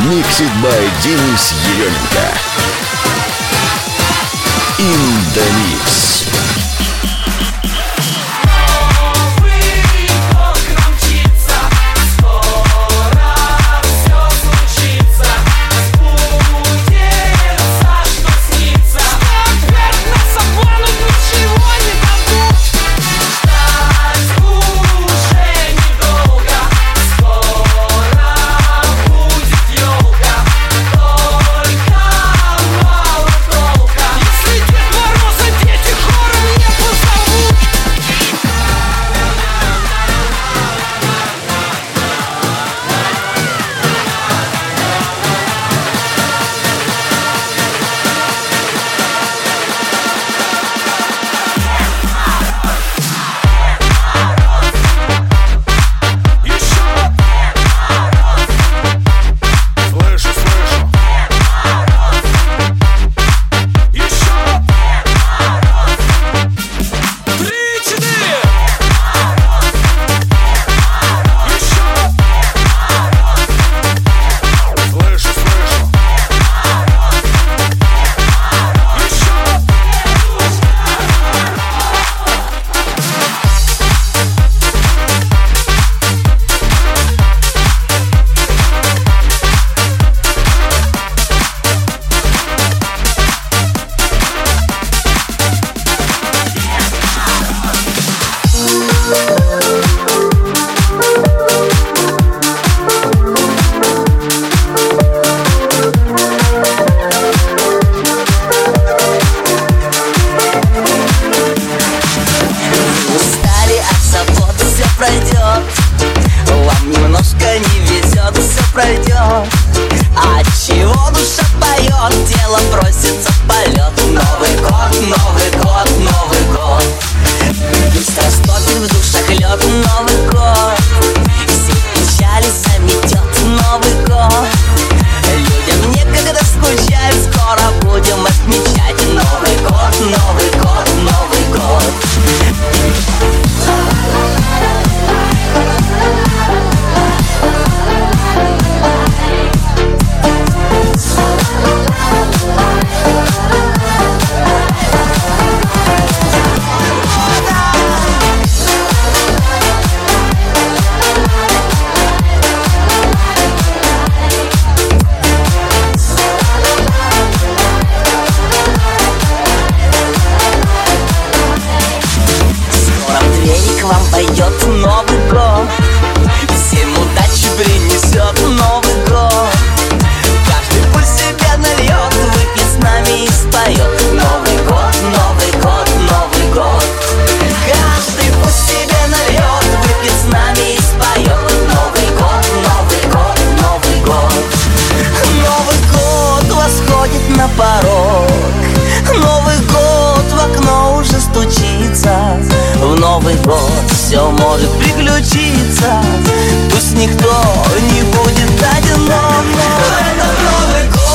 Mixed by Денис Еременко. In the Mix. Все может приключиться, пусть никто не будет одинок. Это Новый год.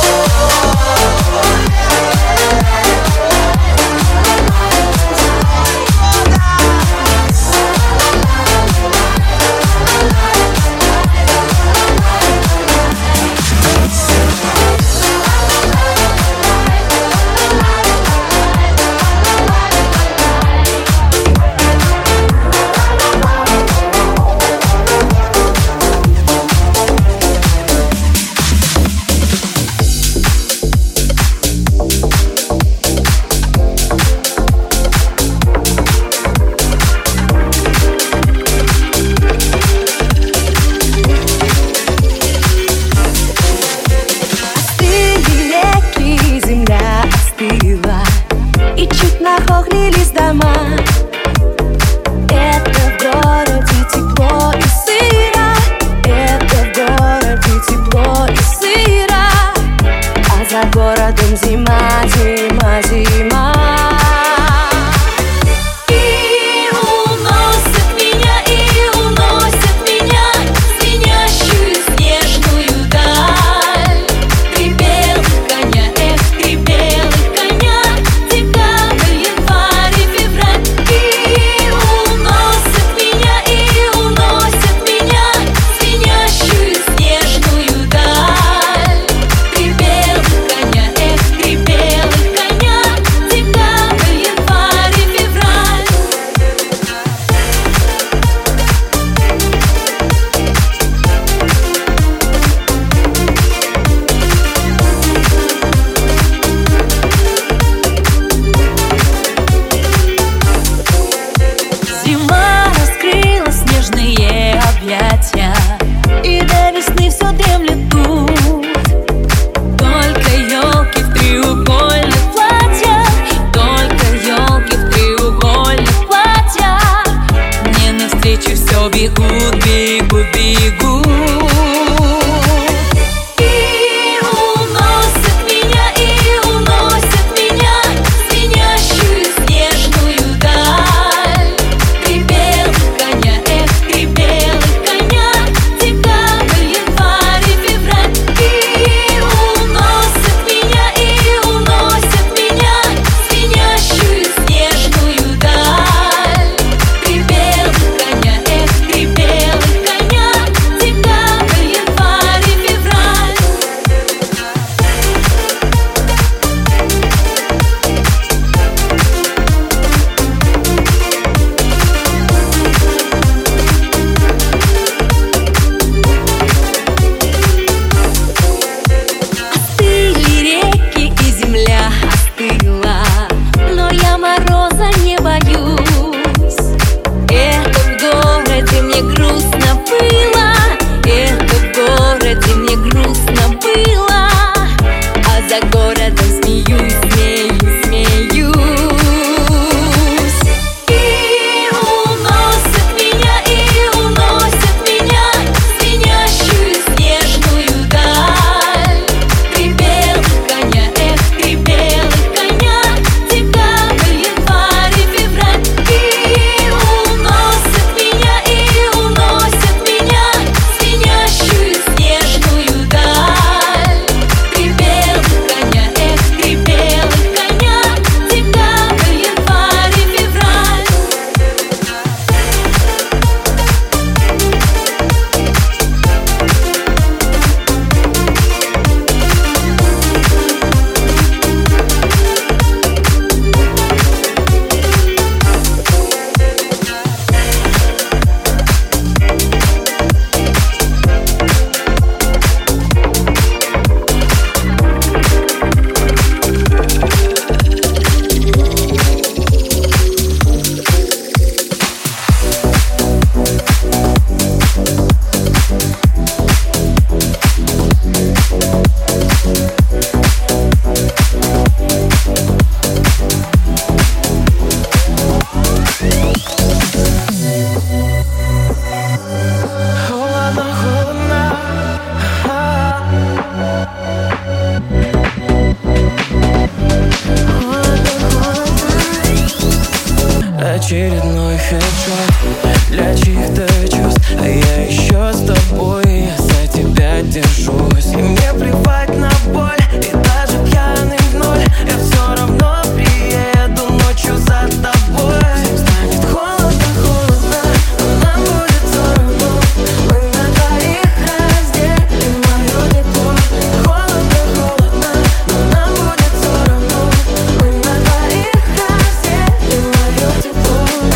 очередной хедшот для чьих-то чувств, а я еще с тобой, я за тебя держусь. И мне плевать на боль, и даже пьяный в ноль, я все равно приеду ночью за тобой. Всем станет холодно, холодно, но нам будет все равно. Мы на двоих разделим мое тепло. Холодно, холодно, но нам будет все равно. Мы на двоих разделим мое тепло.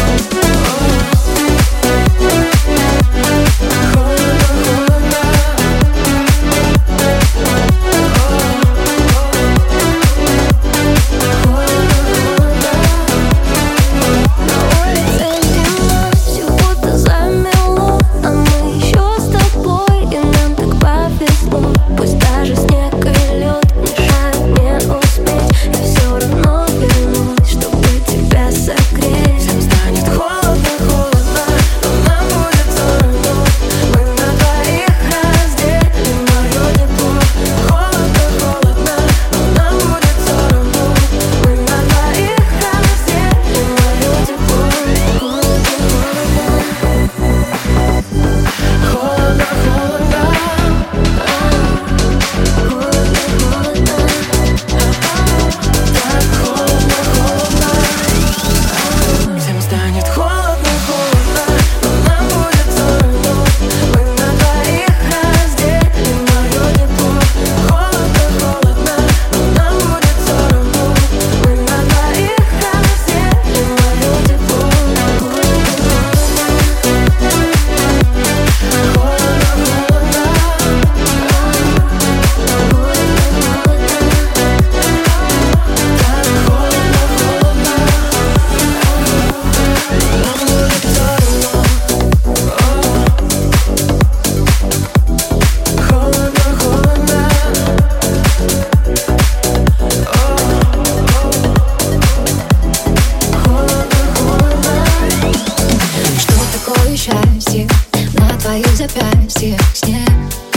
Счастье на твоих запястьях, снег,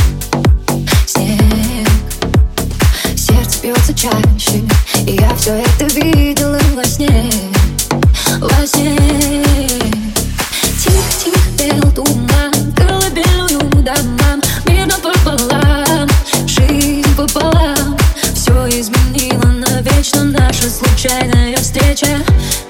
снег. Сердце бьется чаще, и я все это видела во сне, во сне. Тихо-тихо пел туман, колыбельную домам. Мир напополам, жизнь пополам. Все изменило навечно наша случайная встреча.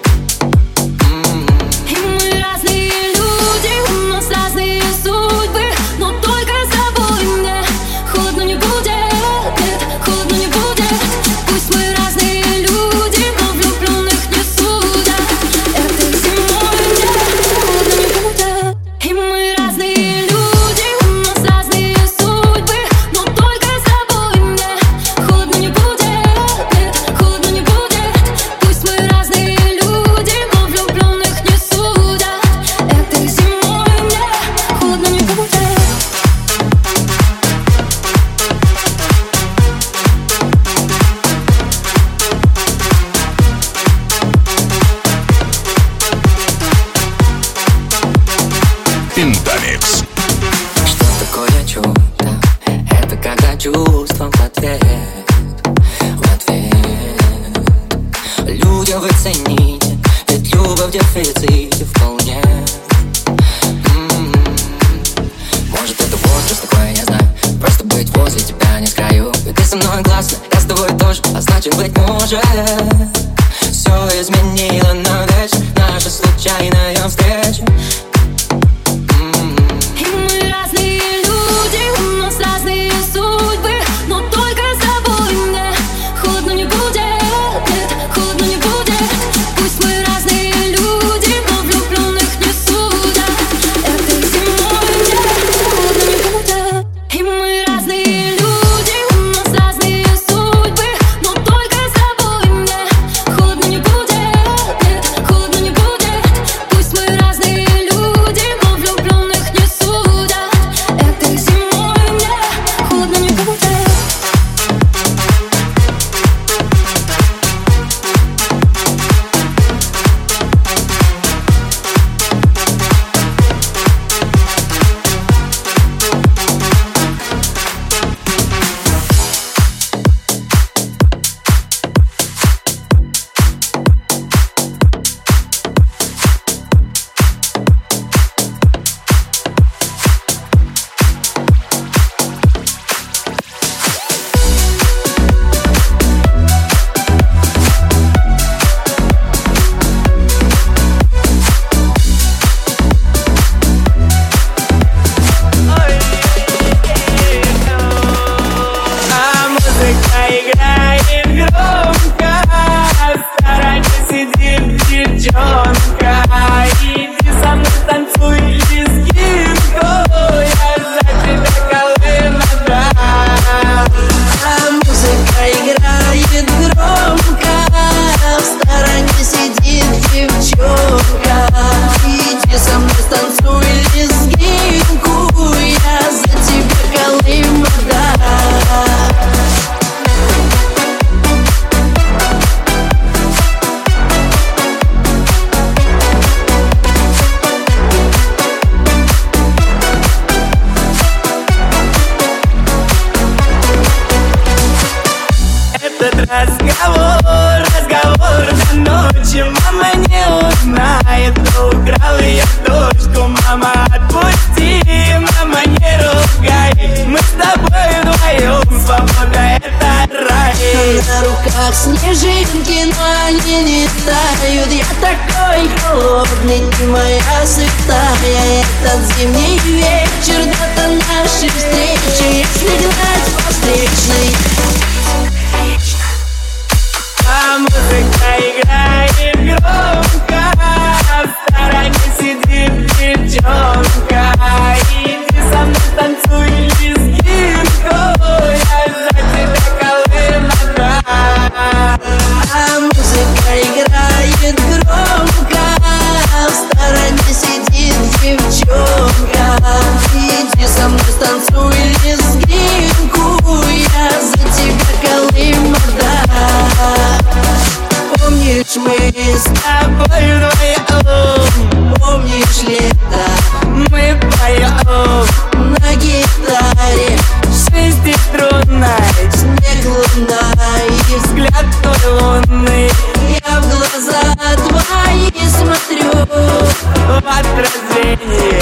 Интамикс. Что такое чудо? Это когда чувством в ответ, в ответ. Людям вы цените, ведь любовь в дефиците вполне. Может это возраст такой, я знаю. Просто быть возле тебя не с краю. И ты со мной классно, я с тобой тоже. А значит быть может все изменило навечно наша случайная встреча. Пусть мы разные как снежинки, но они не тают. Я такой холодный, ты моя святая. Этот зимний вечер, дата нашей встречи. Если гнать по встречной, а музыка играет громко, в стороне сидит девчонка. Иди со мной танцуй лезгинку, я за тебя колымага. а музыка играет громко, в стороне сидит девчонка. Иди со мной станцуй лезгинку, я за тебя колымага. Помнишь, мы с тобой вдвоем, помнишь лето, Мы поем на гитаре, шестиструнной, снег, луна и взгляд твой лунный я в глаза твои смотрю. в отражении.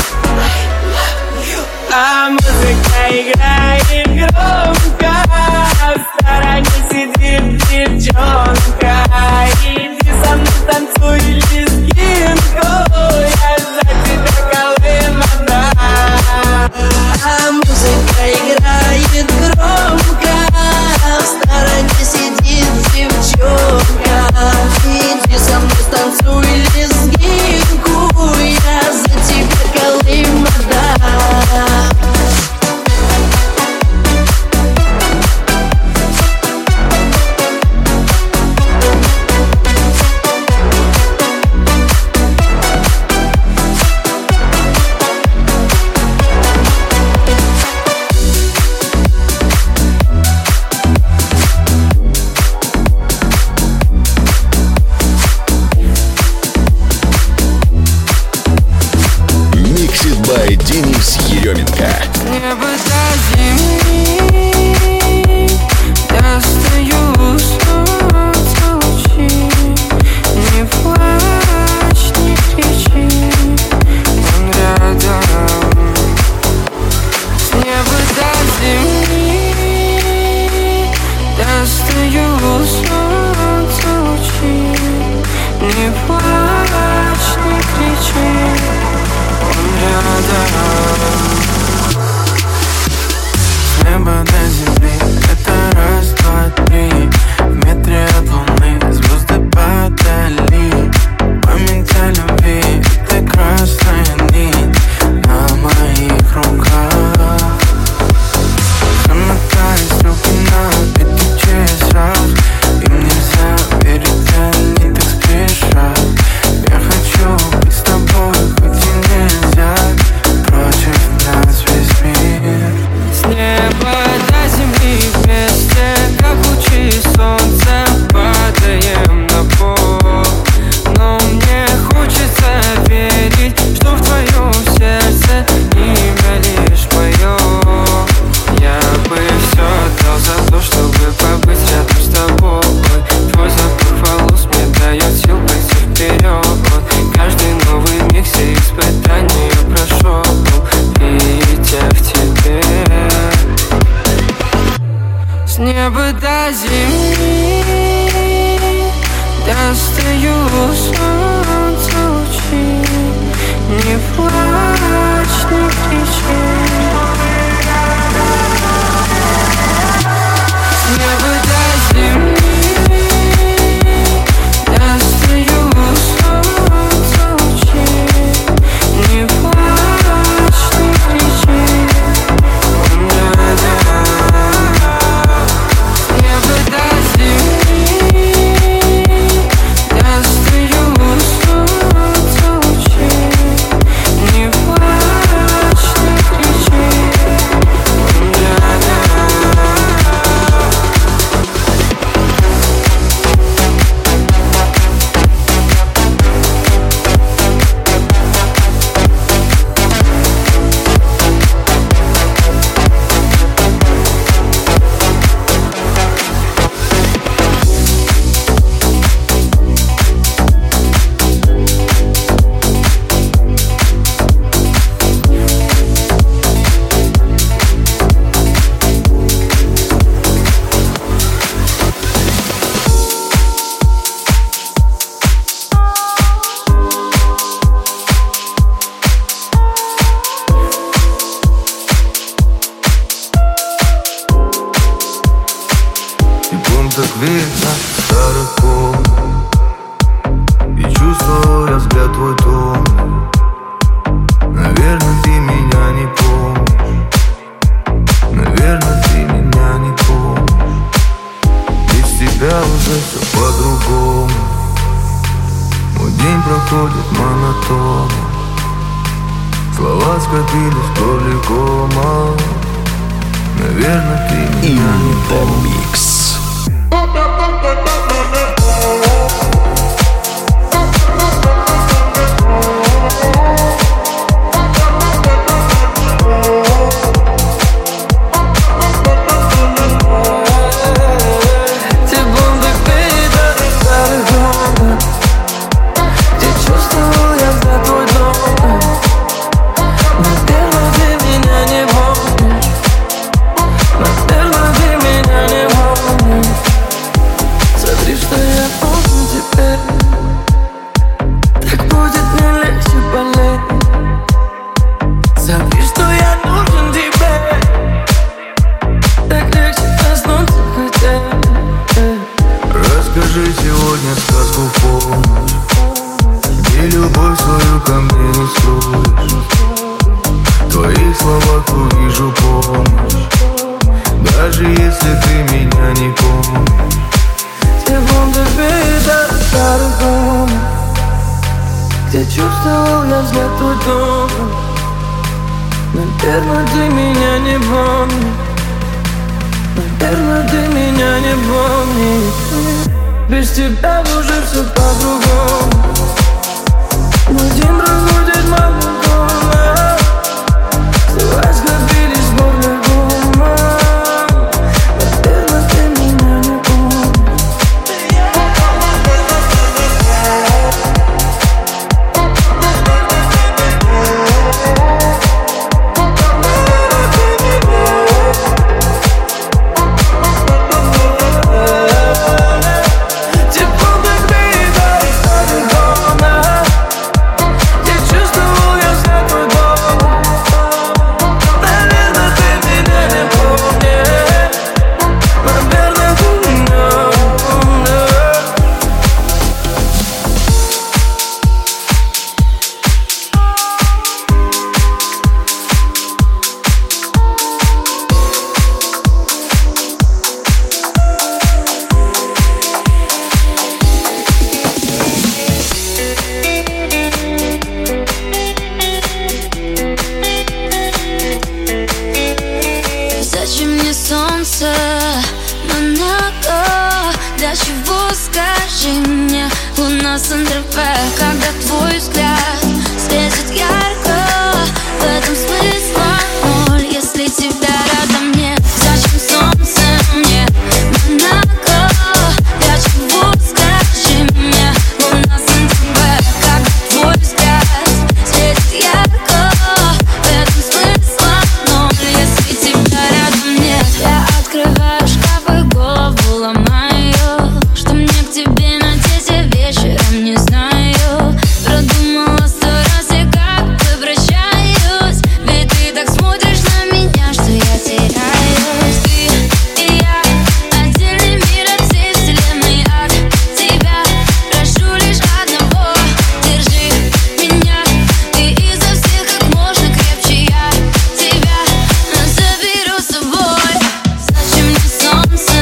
А музыка играет громко, в стороне сидит девчонка. Иди со мной танцуй лезгинку, я за тебя колымага. А музыка играет громко, в стороне сидит девчонка. Иди со мной станцуй лезгинку, я за тебя колымага. Mixed by Денис Еременко. Небо до земли, я стою, солнце лучи. Не плачь, не кричи, он рядом. С неба до земли, я стою, солнце лучи. Не плачь, не кричи, рядом. С неба до земли, это раз, два, три. В метре от луны звезды подали. Память о любви, это красная нить на моих руках. Замотались руки на эти часах, им нельзя верить, они так спешат. Я хочу быть с тобой, хоть и нельзя, против нас весь мир. С неба до земли вместе, как лучи солнца, падаем на пол. Но мне хочется верить, что в твоем сердце имя лишь мое. Я бы все отдал за то, чтобы побыть рядом с тобой. Твой запах волос мне дает сил пойти вперед. Каждый новый миг все испытания прошел, видя в тебе. С неба до земли достаю солнце лучи. Не плачь, не кричи. С неба до земли достаю солнце лучи. Не плачь, не кричи, он рядом. С неба до земли достаю проходит монотонно. Слова скопились поликома. Наверное, ты меня не помнишь. Сегодня сказку в полночь, где любовь свою ко мне не скроешь. В твоих словах увижу помощь, даже если ты меня не помнишь. Секунды вида старых комнат, где чувствовал я взгляд твой добрый. Наверное, ты меня не помнишь. Наверное, ты меня не помнишь. Без тебя уже все по-другому. Мой день проходит монотонно. Слова скопились поликома. Наверное, ты меня не помнишь. Для чего, скажи мне, луна Сан-Тропе, когда твой взгляд светит ярко, в этом смысла ноль, если тебя рядом нет. Зачем солнце мне, Монако? Для чего, скажи мне, луна Сан-Тропе, когда твой взгляд светит ярко, в этом смысла ноль, если тебя рядом нет. Я открываю шкаф и голову ломаю. Что мне к тебе надеть, я вечером не знаю. Продумала 100 раз, я как обращаюсь. Ведь ты так смотришь на меня, что я теряюсь. Ты и я, отдельный мир от всей вселенной. От тебя прошу лишь одного: держи меня. Ты изо всех как можно крепче, я тебя заберу с собой. Зачем мне солнце,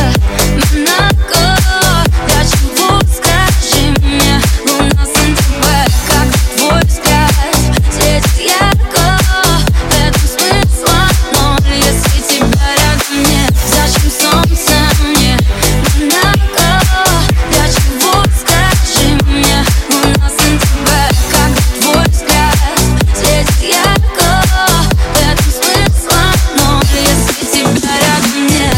Монако? Для чего, скажи мне, луна Сан-Тропе, как твой взгляд светит ярко, в этом смысла ноль, если тебя рядом нет. Зачем солнце мне, Монако? Для чего, скажи мне, луна Сан-Тропе, как твой взгляд светит ярко, в этом смысла ноль, если тебя рядом нет.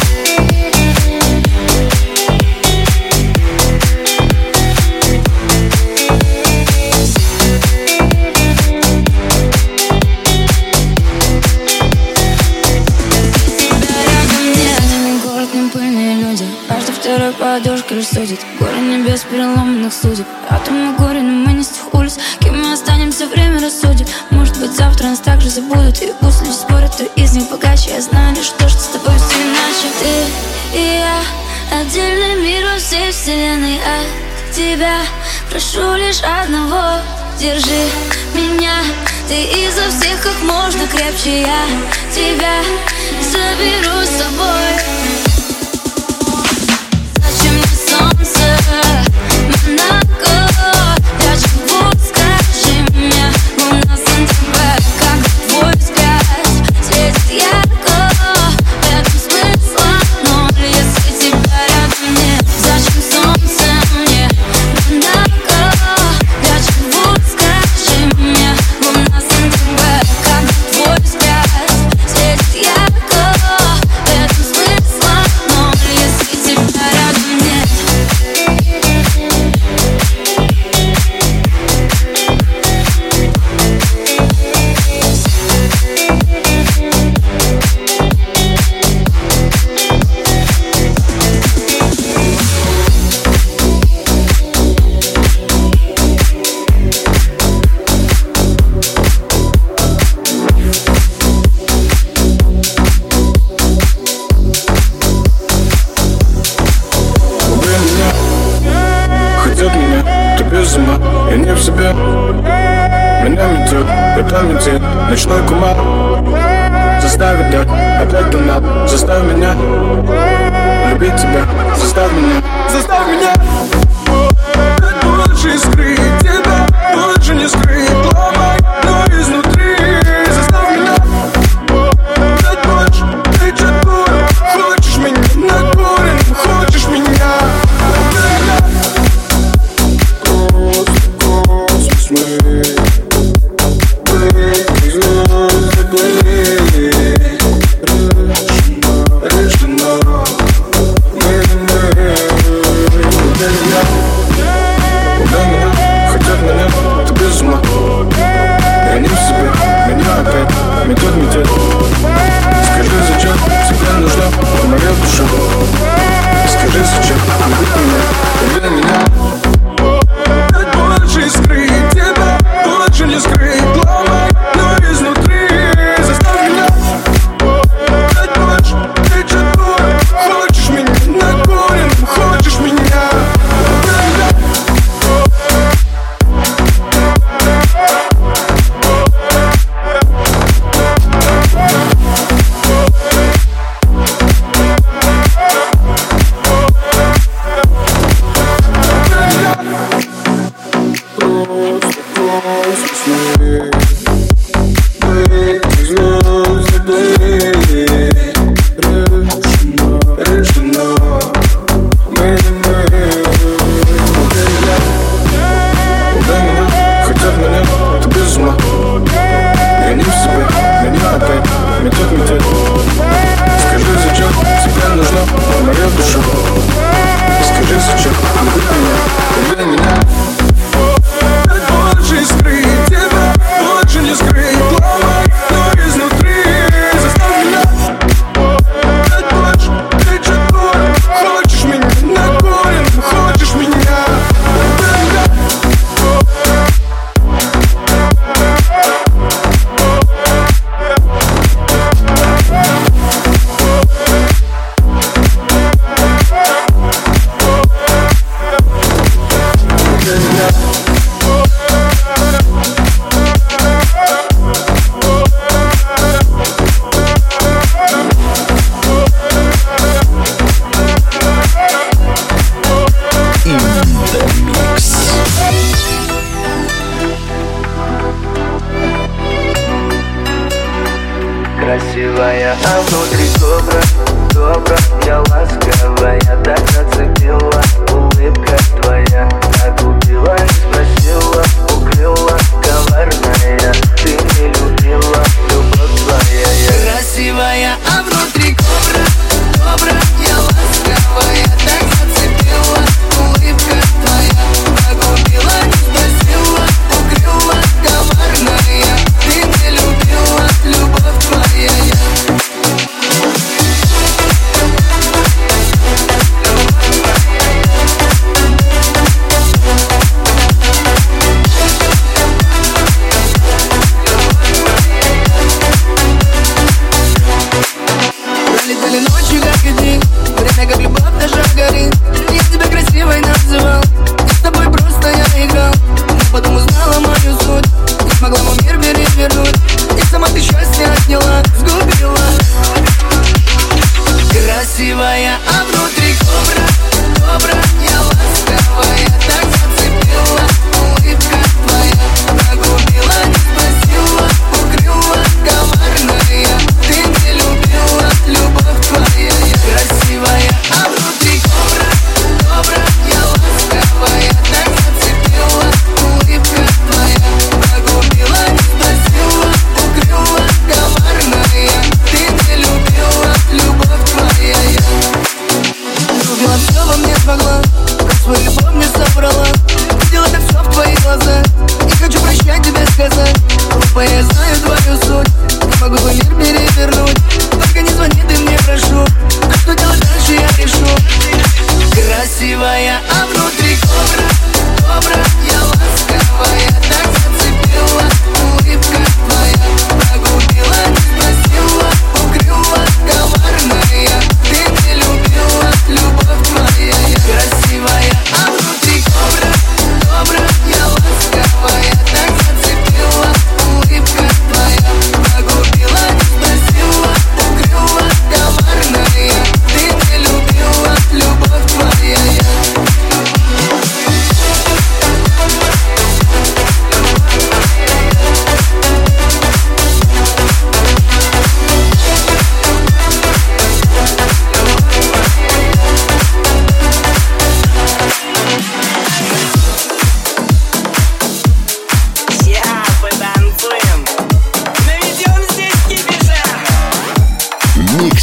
Город не пыльные люди, каждый второй подушкой судит. Горы небес переломанных судеб. Атомы горе, но мы не с тех улиц. Кем мы останемся, время рассудит. Может быть, завтра нас также забудут. И пусть люди спорят, кто из них богаче. Я знаю лишь то, что с тобой все иначе. Ты и я, отдельный мир во всей вселенной. От тебя прошу лишь одного: держи меня. Ты изо всех как можно крепче, я тебя заберу с собой. Зачем мне солнце, Монако? Для чего меня метет, это метет, ночной кумар. Заставит дать опять туннел, заставь меня любить тебя, заставь меня, заставь меня. Больше скрыть тебя, больше не скрыть, ломай, но изнутри. Заставь меня дать больше, ты чат-бурен. Хочешь меня накурен, хочешь меня. Космос мой, метет. Скажи, зачем тебе нужна моя душа? Скажи, зачем любить меня, люби меня. Дать больше скрыть тебя, больше не скрыть, ломай, но изнутри. Заставь меня дать больше, ты чат-бурен. Хочешь меня накурен, хочешь меня. Скажи, зачем тебе нужна моя душа? Скажи, зачем любить меня, люби меня. Дать больше скрыть тебя, больше не скрыть, ломай, но изнутри. Заставь меня дать больше, ты чат-бурен. Хочешь меня накурен, хочешь меня. Красивая, а внутри кобра, добра, я ласковая, так зацепила. Улыбка твоя так убила, не спросила, укрыла, коварная. Ты не любила, любовь твоя. Красивая, а внутри кобра, добра, я ласковая, так зацепила. Улыбка твоя так убила, не спросила, укрыла, коварная. Ты не любила, любовь твоя. Любовь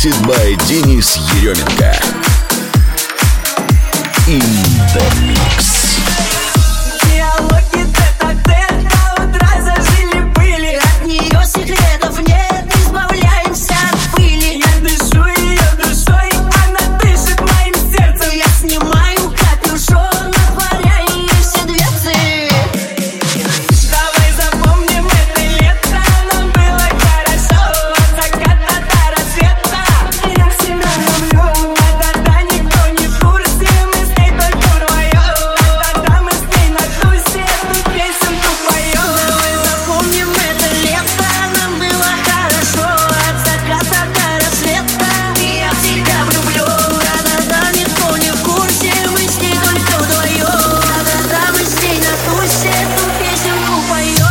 Mixed by Денис Еременко. In the mix. Диалоги тет-а-тет до утра зажили-были. От нее секретов нет, избавляемся от пыли. Я дышу ее душой, она дышит моим сердцем. Я снимаю капюшон, отворяю ей все дверцы. Давай запомним это лето, нам было хорошо. От заката до рассвета я себя люблю. Да-да-да, никто не в курсе, мы с ней только вдвоем. Да-да-да, мы с ней на тусе эту песенку поем. Давай запомним это лето, нам было хорошо. От заката до рассвета я себя люблю. Да-да-да, никто не в курсе, мы с ней только вдвоем. Да-да-да, мы с ней на тусе эту песенку поем.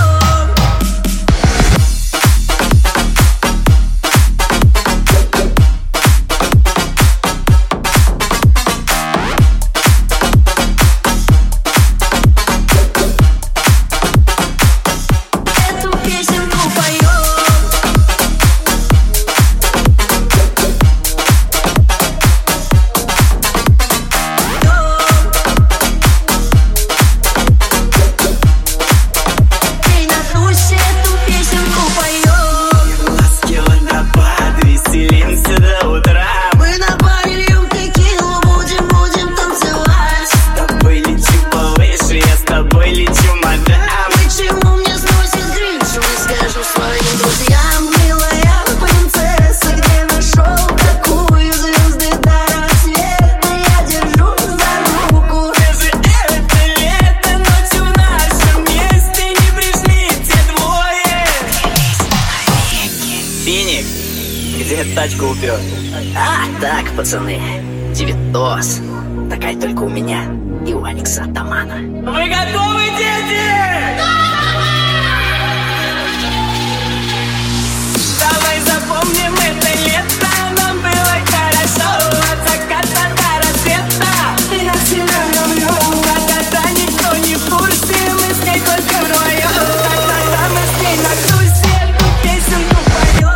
Эту песенку поем. Ей на тусе эту песенку поем. Ласки водопад, веселимся до утра. Мы набавили текилу, будем танцевать. С тобой лечу повыше, я с тобой лечу, мадам. Почему мне сносит крышу? Скажу своим друзьям, милая принцесса, где нашел такую звезды до рассвета? Я держу за руку. Даже это лето, ночью в нашем месте не пришли те двое. Финик, где тачку упер? А, так, пацаны, Девитос. Такая только у меня и у Алекса Атамана. Вы готовы, дети? Давай запомним это лето, нам было хорошо. От заката до рассвета я себя люблю. Да-да-да, никто не в курсе, мы с ней только вдвоем. Да-да-да, мы с ней на тусе эту песенку поем.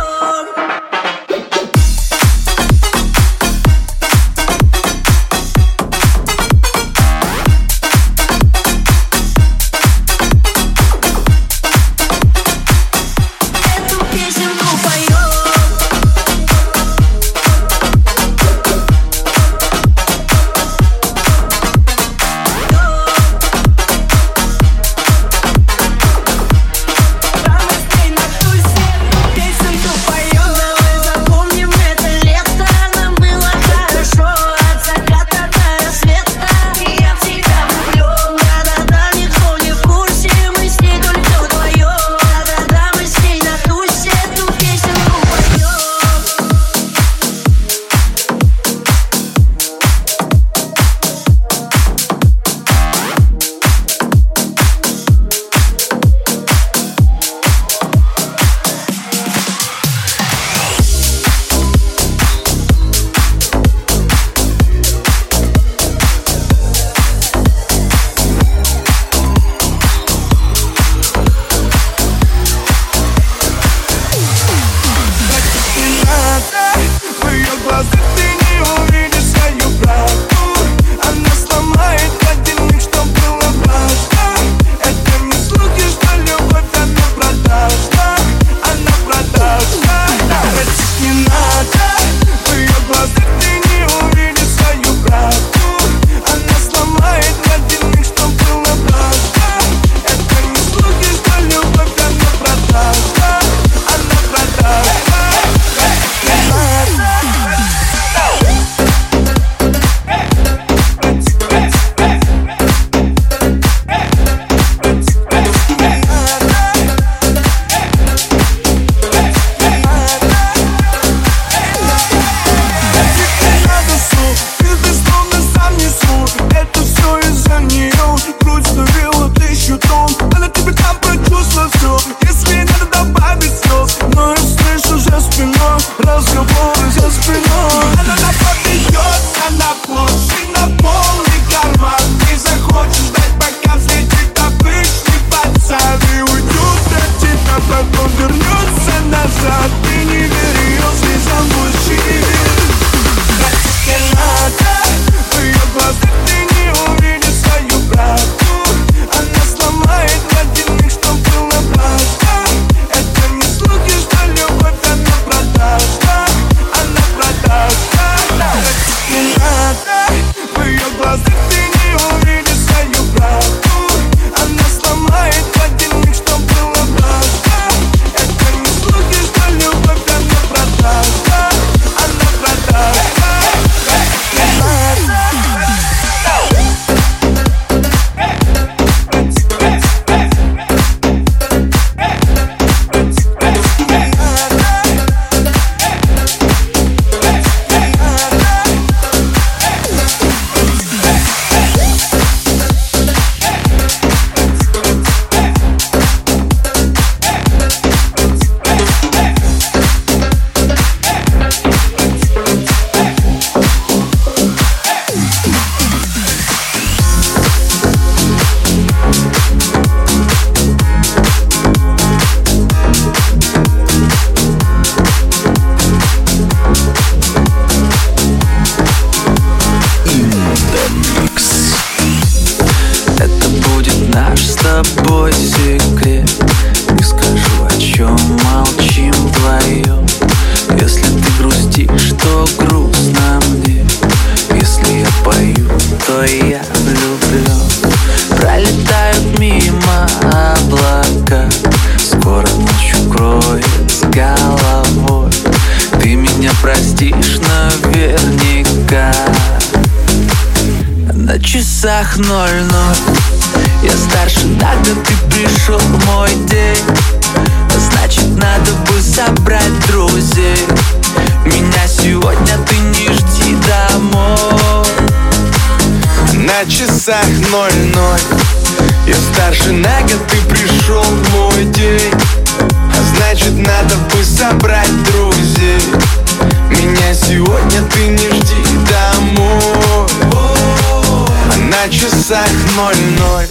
часах 00. Я старше на год, ты пришел в мой день. Значит, надо бы собрать друзей. Меня сегодня ты не жди домой. На часах 00. Я старше на год, ты пришел в мой день. Значит, надо бы собрать друзей. Меня сегодня ты не жди домой. А на часах 00.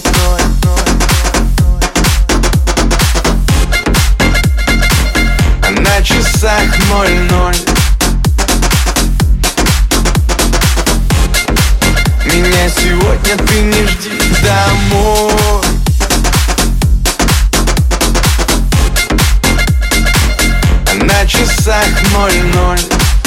А на часах 00. Меня сегодня ты не жди домой. А на часах 00.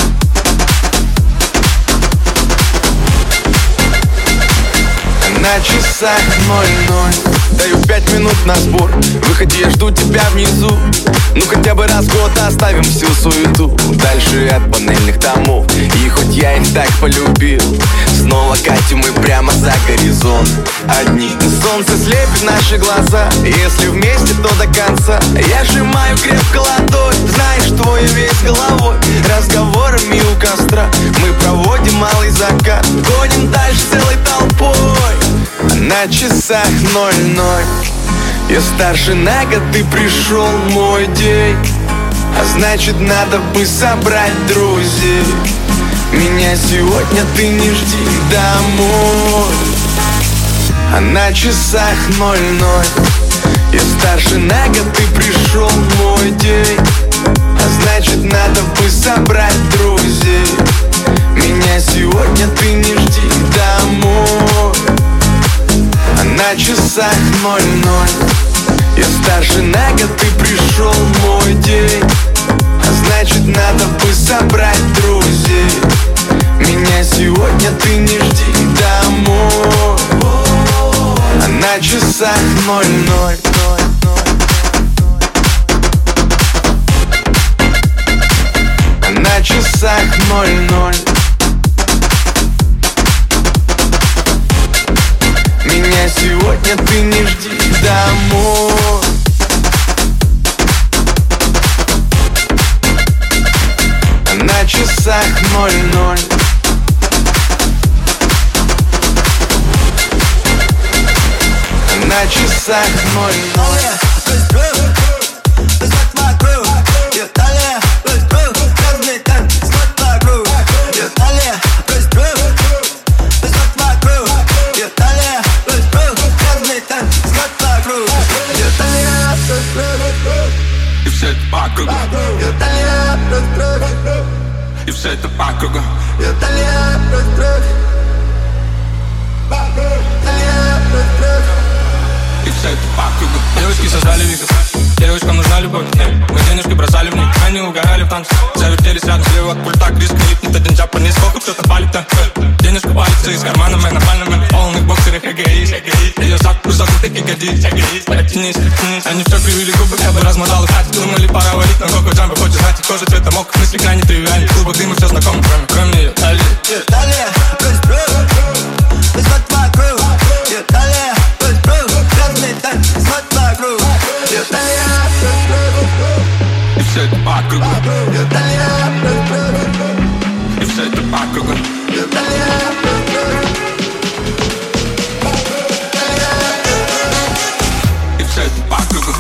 На часах 00. Даю 5 минут на сбор. Выходи, я жду тебя внизу. Ну хотя бы раз в год оставим всю суету дальше от панельных домов. И хоть я их так полюбил, снова катим мы прямо за горизонт. Одни солнце слепит наши глаза. Если вместе, то до конца. Я сжимаю крепко ладонь, знаешь, твой весь головой. Разговорами у костра мы проводим малый закат. Гоним дальше целой толпой. На часах 00. Я старше на год, ты пришел в мой день. А значит, надо бы собрать друзей. Меня сегодня ты не жди домой. А на часах 00. Я старше на год, ты пришел в мой день. А значит, надо бы собрать друзей. Меня сегодня ты не жди домой. А на часах 00. Я старше на год, ты пришел в мой день. А значит, надо бы собрать друзей. Меня сегодня ты не жди домой. А на часах 00. А на часах 00. Меня сегодня ты не жди домой. А на часах 00. А на часах 00. И все это по кругу. И все это по кругу. И все это по кругу. Девочки создали вихрь. Девочкам нужна любовь. Мы денежки бросали в них. Они угорали в танце. Завертелись рядом слева от пульта. Крис клипнет один джапанец. Сколько кто-то палит там. Денежка палится из кармана. Мы нормально, мы в полных боксерах. Эгоист. Ее закруток таки годится. Оттянись. Они все кривили губы. Я бы размотал их. Думали, пора валить. На коко джамбе. Хочешь знать, кожа цвета мок. Мысли крайне тривиальны. В клубах дыма все знакомо. Кроме ее. Далее. И все это по кругу. И все это по кругу. И все это по кругу.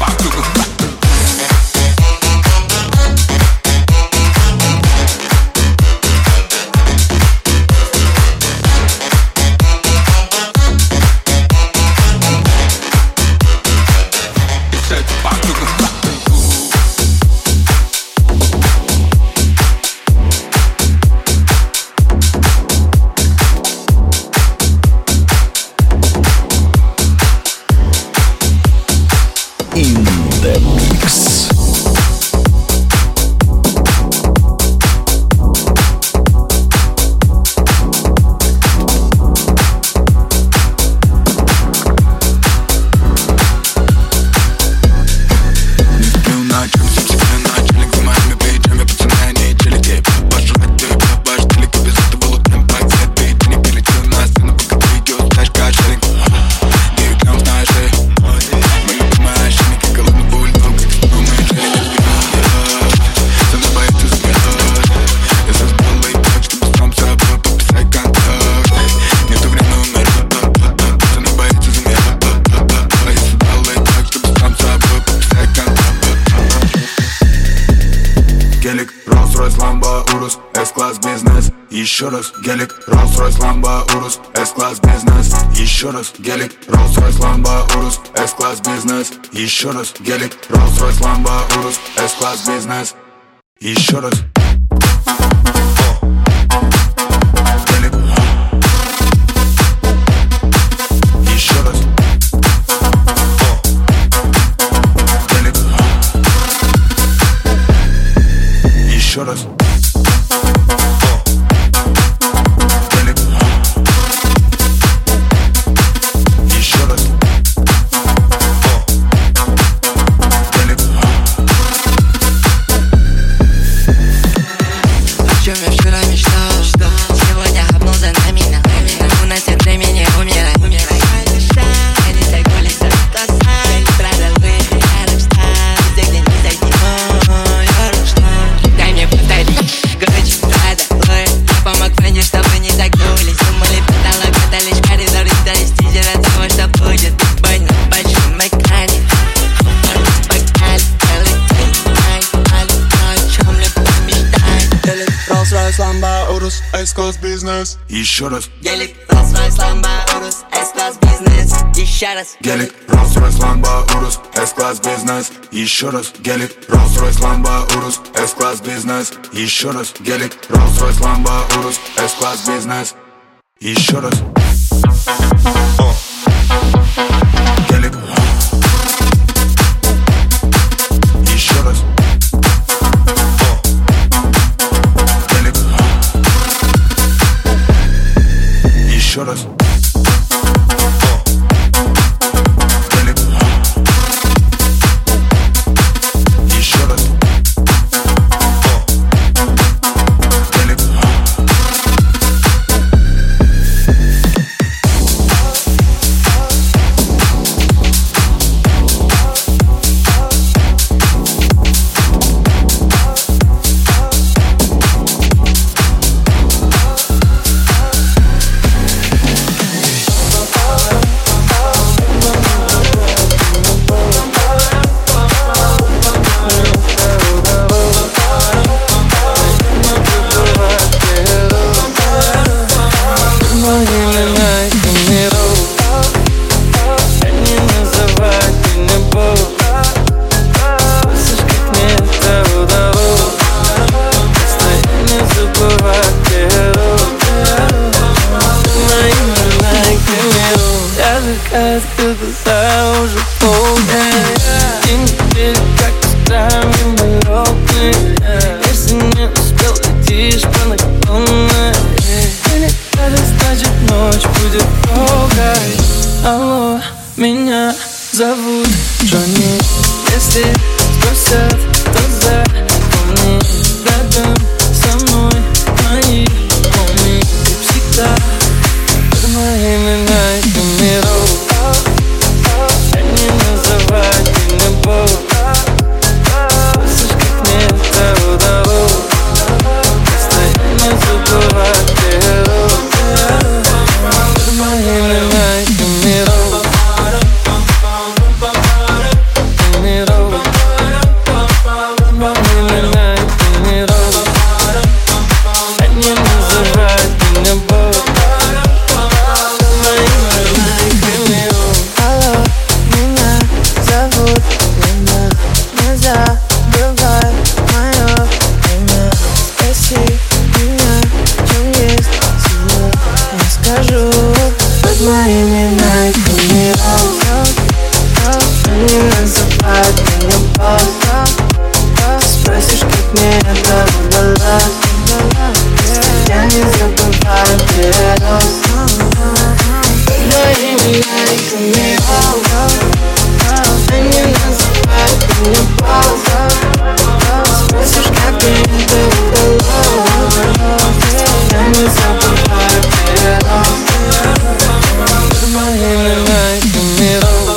по кругу. Еще раз гелик, Rolls-Royce, Lambo, Urus, S-класс бизнес. Еще раз гелик, Rolls-Royce, Lambo, Urus, S-класс бизнес. Еще раз гелик, Rolls-Royce, Lambo, Urus, S-класс бизнес. Еще раз. Гелик. Еще раз. Гелик. Еще раз. S-класс бизнес. Еще раз. Гелик, Rolls-Royce, Lambo, Urus, S-класс бизнес. Еще раз. Гелик, Rolls-Royce, Lambo, Urus, S-класс бизнес. Еще раз. Гелик, Rolls-Royce, Lambo, Urus, S-класс бизнес. Еще раз. Гелик, Rolls-Royce, Lambo, Urus, S-класс бизнес. Еще раз. Гелик. Еще раз. Еще раз. Гелик. Еще раз. Гелик. это удалось. Я не забываю перерос. Когда имена их умирал, они называют меня босс. Спросишь, как мне это удалось. Я не забываю перерос. Мои имена их умирал.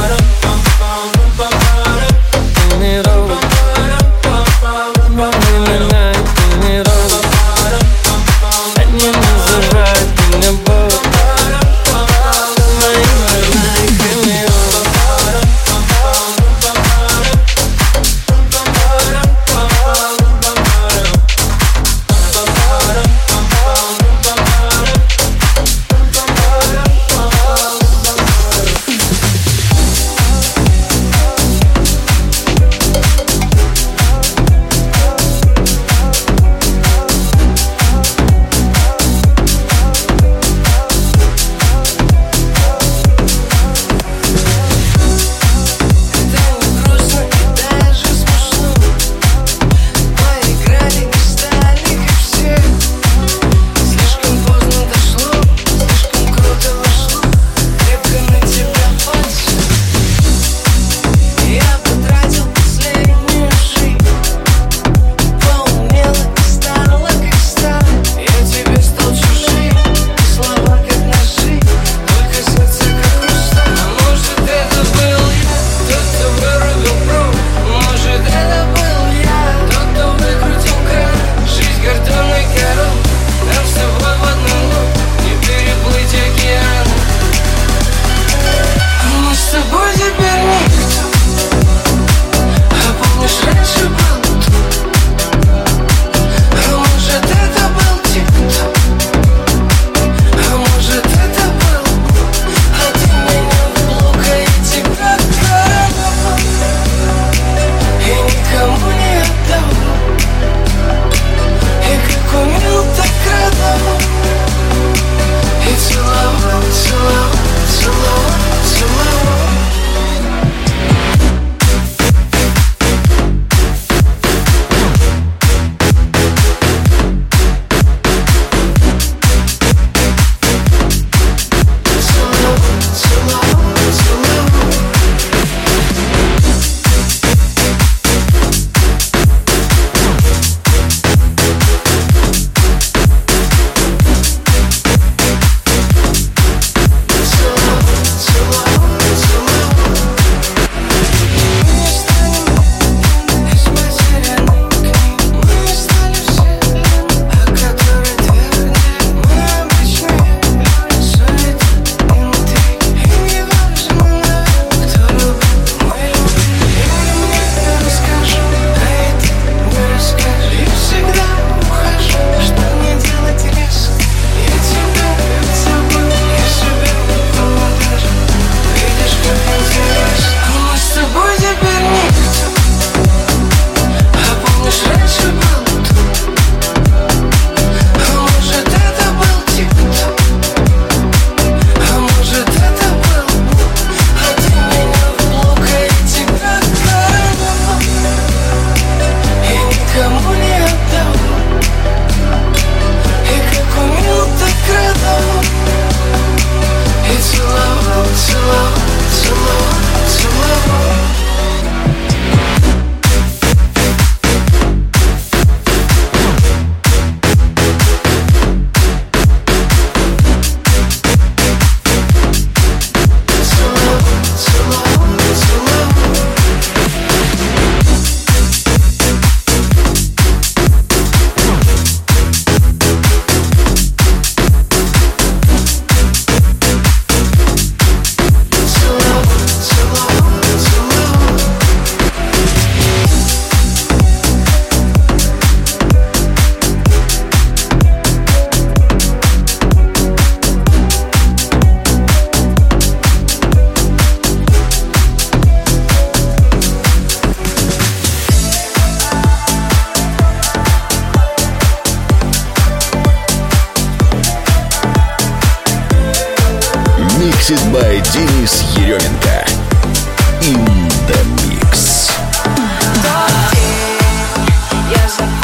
Mixed by Денис Еременко. In the Mix. Тот день я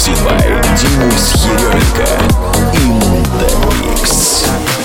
Mixed by Денис Еременко. In the Mix.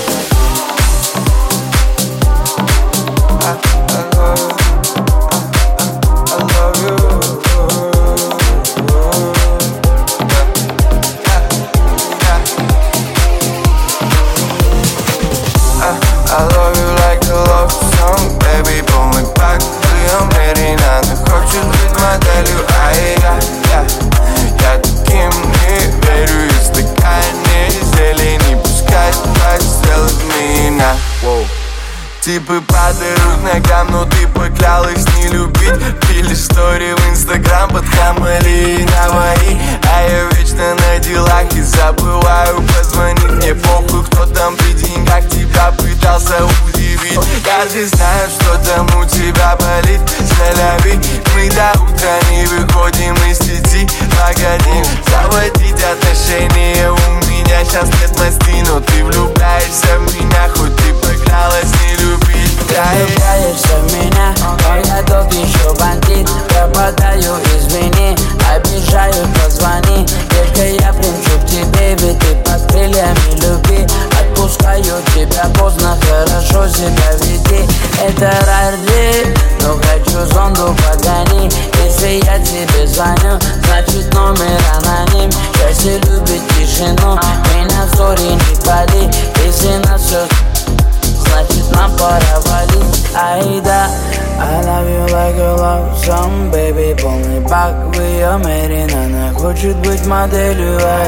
Типы падают ногам, но ты поклялась не любить. Пили истории в Инстаграм под Хамали и Наваи. А я вечно на делах и забываю позвонить. Мне похуй, кто там при деньгах тебя пытался удивить. Я же знаю, что там у тебя болит. Заляви, мы до утра не выходим из сети. Погоди, заводить отношения у меня сейчас нет мости. Но ты влюбляешься в меня, хоть ты поклялась не любить. Ты влюбляешься в меня, но я тот еще бандит. Пропадаю, извини, обижаю, позвони. Детка, я примчу к тебе, ведь ты под крыльями любви. Отпускаю тебя поздно, хорошо себя веди. Это рарли, но хочу зонду погони. Если я тебе звоню, значит номер аноним. Счастье любит тишину, меня в стори не пали. Если нас все, значит нам пора валить. Айда, I love you like a love song, baby. Полный бак в ее мере, она хочет быть моделью, а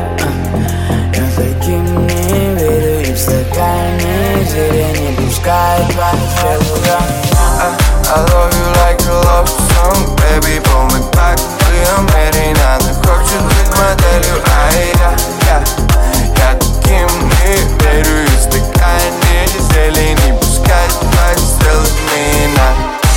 я таким не верю. И в стакане зелья не пускай твои стрелы. I love you like a love song, baby. Полный бак в ее мере, она хочет быть моделью, а я таким не верю. И в стакане зелья не пускай твои стрелы в меня.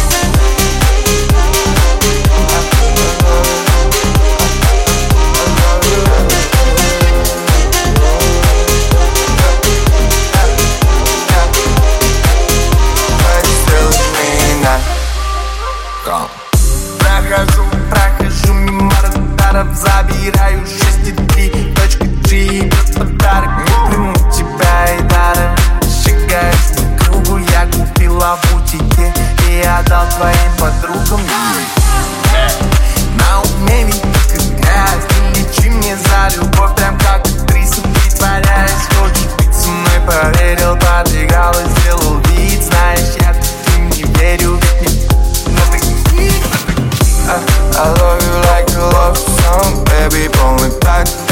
Прохожу мимо радаров, забираю 6,3, точка G, идет подарок. Не приму тебя и даром. Шагаю по кругу, я купила в бутике и отдал твоим подругам. На уме ведь только грязь, не лечи мне за любовь, прям как актриса притворяюсь. Хочешь быть со мной, поверил, подыграл и сделал вид. Знаешь, я таким не верю, ведь не I love you like a love song, baby. Полный так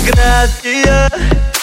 фотография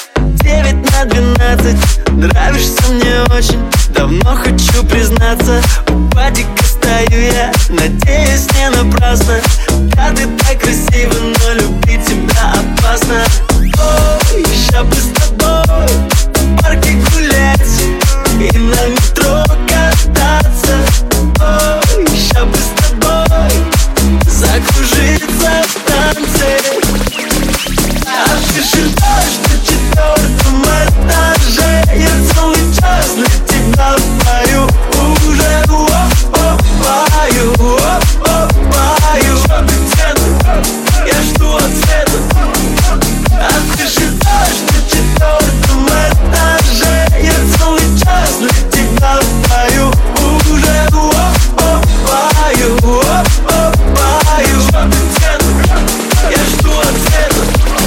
9/12. Нравишься мне очень, давно хочу признаться. У падика стою я, надеюсь, не напрасно. Да, ты так красива, но любить тебя опасно. Ой, ща бы с тобой в парке гулять и на метро кататься. Ой, ща бы с тобой закружиться в танце. А ты живешь на 4-м этаже. Я целый час для тебя пою уже. Пою, пою. Я жду ответа. А ты живешь на 4-м этаже. Я целый час для тебя пою уже. Пою, пою. Я жду ответа.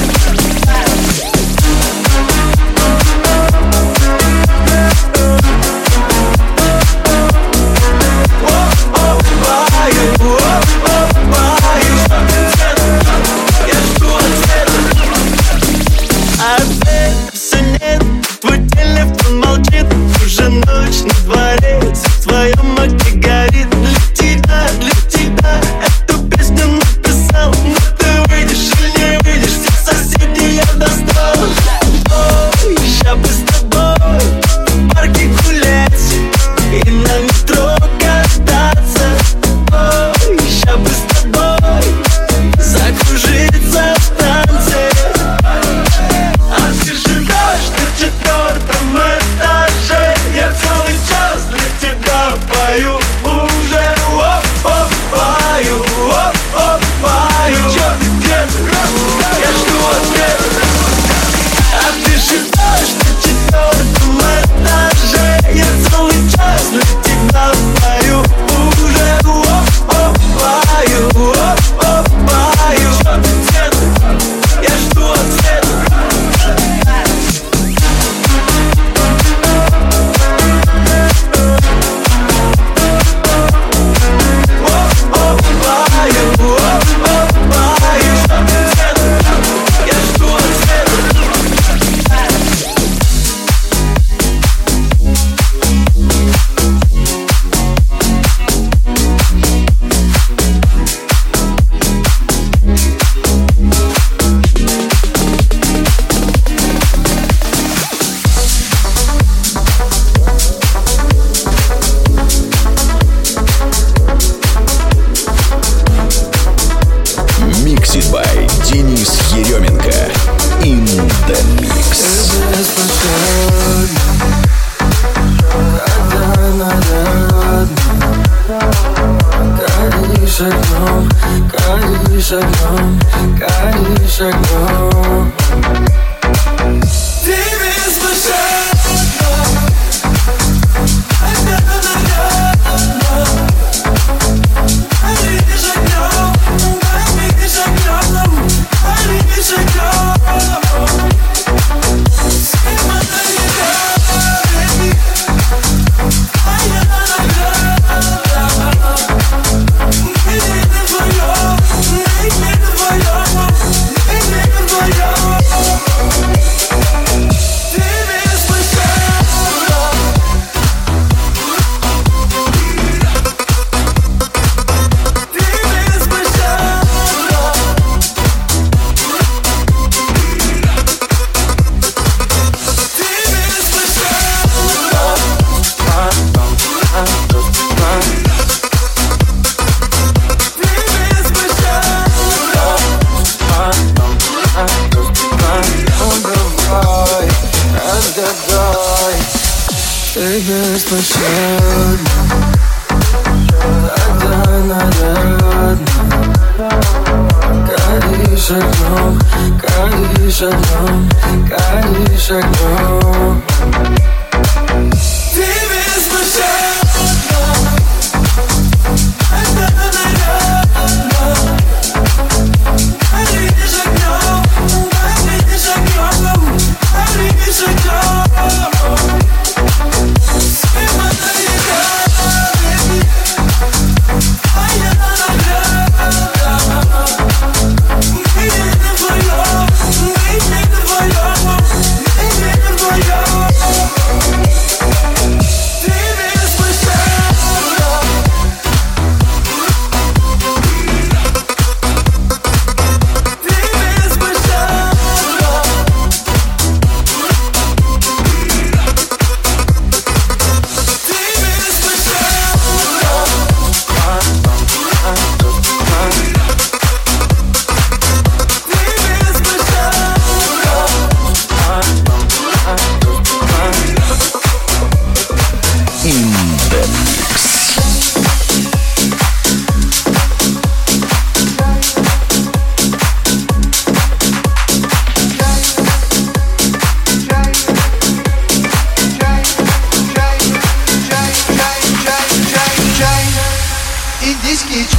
А ты все нет, твой телефон молчит. Уже ночь на дворе, все в твоем окне горит. Для тебя эту песню написал. Но ты выйдешь или не выйдешь, всех соседей я достал. Ой, ща бы с тобой в парке гулять и на метро кататься. Ой, ща бы с тобой закружиться в танце. А ты живешь на 4-м этаже. Я целый час для тебя пою уже. Пою, пою. Чё ты где-то? Я жду ответа. А ты живешь на 4-м этаже. Я целый час для тебя пою уже. Пою, пою. Чё ты где-то? Я жду ответа. Mixed by Денис Еременко. In the mix. Горишь огнем, горишь огнем, горишь огнем. Ты беспощадна, горишь огнем, горишь огнем, горишь огнем. Сима на небе, а я награда. Ты беспощадна, тогда нарядна. Горишь огнем, горишь огнем, горишь огнем. Ты беспощадна, тогда нарядна. Горишь огнем, горишь огнем, горишь огнем. Сима на небе, а я награда. Мы не вдвоем, мы не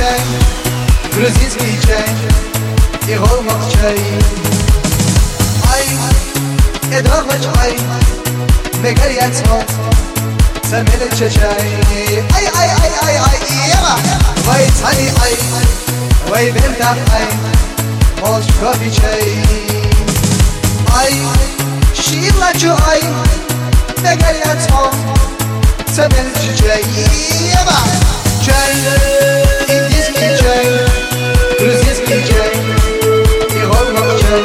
чай, грузинский чай и голмак чай. Ай, эдвармач ай, мегарьян смог, самелет чай. Ай, ай, ай, ай, ай, ева, вай цани ай, вай бента ай, молч кофе чай. Ай, шивлачу ай, мегарьян смог, самелет чай. Ева, чай, индийский чай, грузинский чай и голмак чай.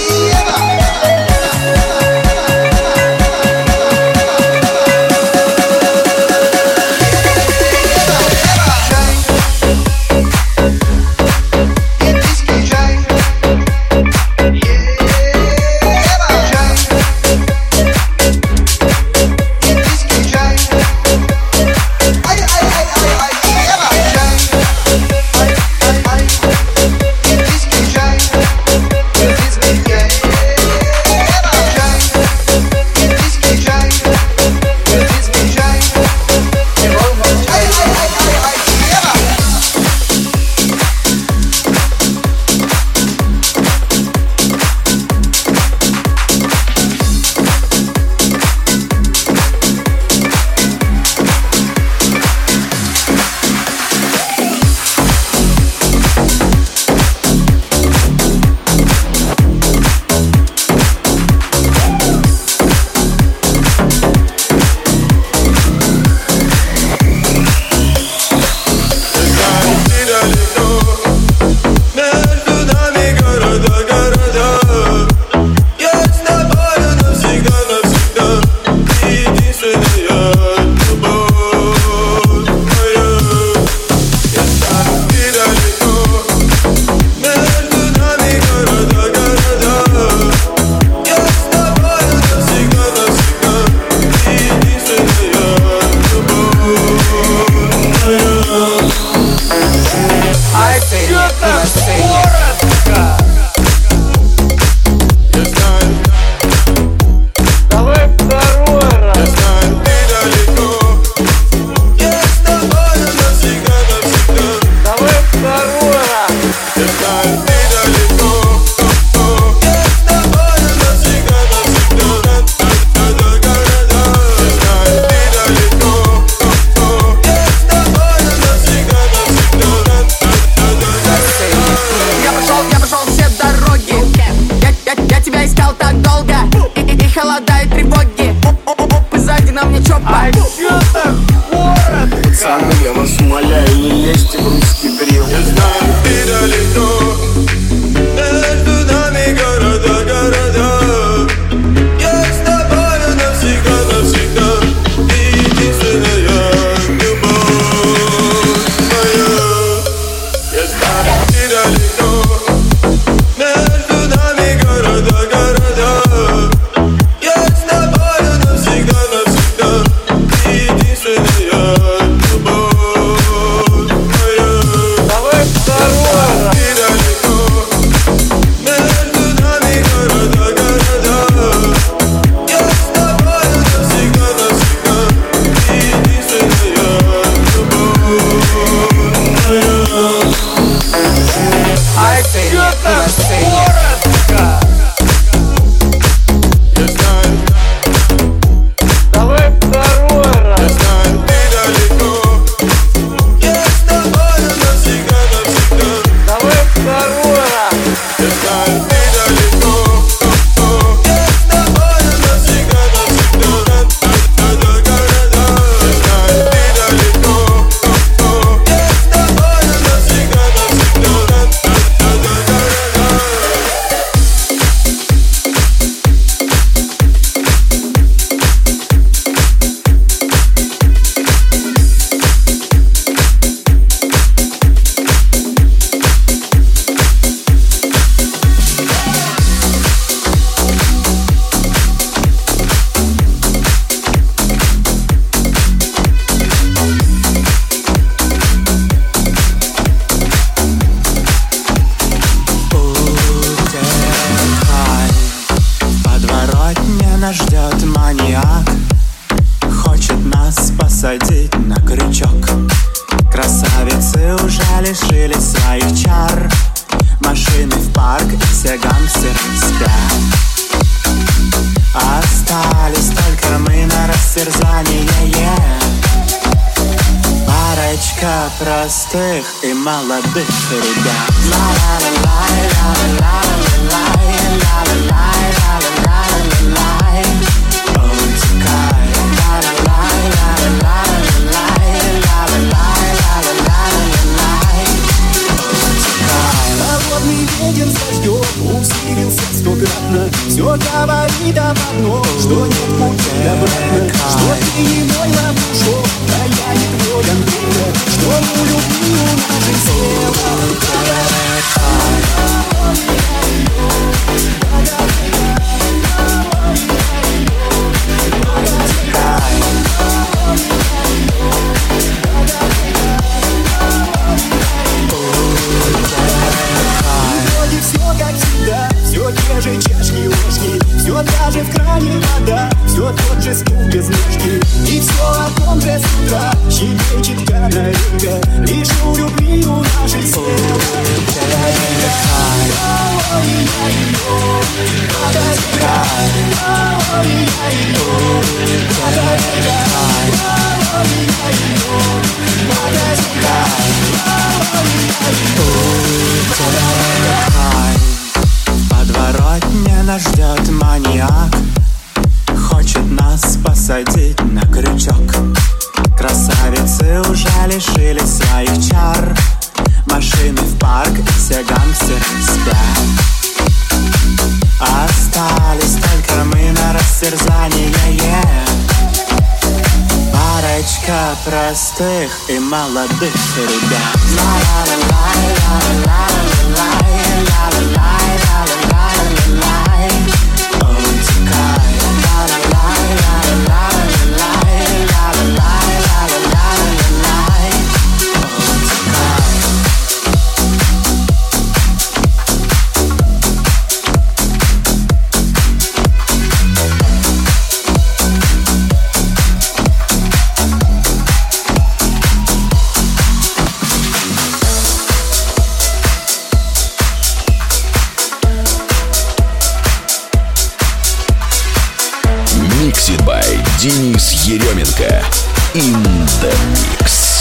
Пацаны, я вас умоляю, не лезьте в русский брил. Я знаю, ты далеко, между нами города, города. Я с тобою навсегда, навсегда. Ты единственная любовь моя. Я знаю, ты далеко, между нами города, города. Я с тобою навсегда, навсегда. Ты единственная. Нас ждет маньяк, хочет нас посадить на крючок. Красавицы уже лишились своих чар. Машины в парк, и все гангстеры спят. Остались только мы на растерзание. Парочка простых и молодых ребят. Холодный ветер с дождем усилился стократно. Все говорит об одном, что нет пути обратно. Что ты не мой ловушок, а я не твой Андрей. Что у любви у нашей слева. Вроде все как всегда, все те же чашки-ложки, все та же в кране вода, все тот же стул без ножки. И все о том же с утра щебечет канарейка, лишь у любви у нашей слева. Подворотня нас ждет маньяк, хочет нас посадить на крючок. Красавицы уже лишились своих чар. Машины в парк, и все гангстеры спят. Остались только мы на растерзание. Парочка простых и молодых ребят. Mixed by Денис Еременко. In the mix.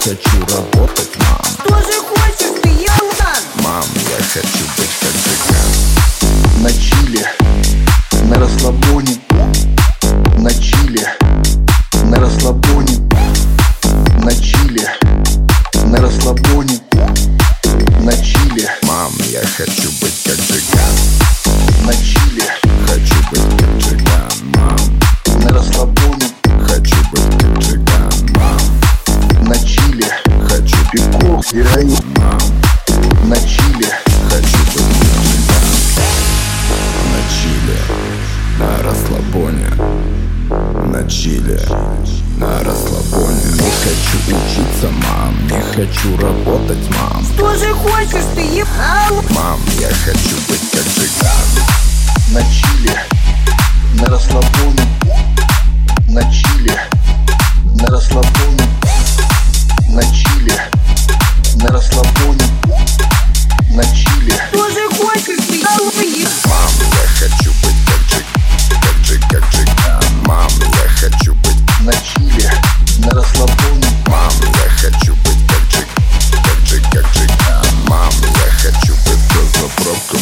хочу работать, мам. Что же хочешь ты, Ялтан? Мам, я хочу быть как цыган. На чиле, на расслабоне, на чиле, на расслабоне, на чиле, на расслабоне, на чиле. Мам, я хочу быть как цыган. На чиле, хочу быть как цыган, мам. на расслабоне, хочу быть как цыган, мам. на чиле, хочу пивко, героин, мам. на чиле, хочу быть как цыган. На чиле, на расслабоне, на чиле, на расслабоне. Не хочу учиться, мам, не хочу работать, мам. Что же хочешь ты, ебал? Мам, я хочу быть как цыган. на чиле, на расслабоне, на чиле, на расслабоне, на чиле, на расслабоне, на чиле. Что же хочешь ты, ебал? Мам, я хочу быть как цыган. Мам, я хочу быть на чиле, на расслабоне. Мам, я хочу быть как цыган. Мам, я хочу быть за заправкой,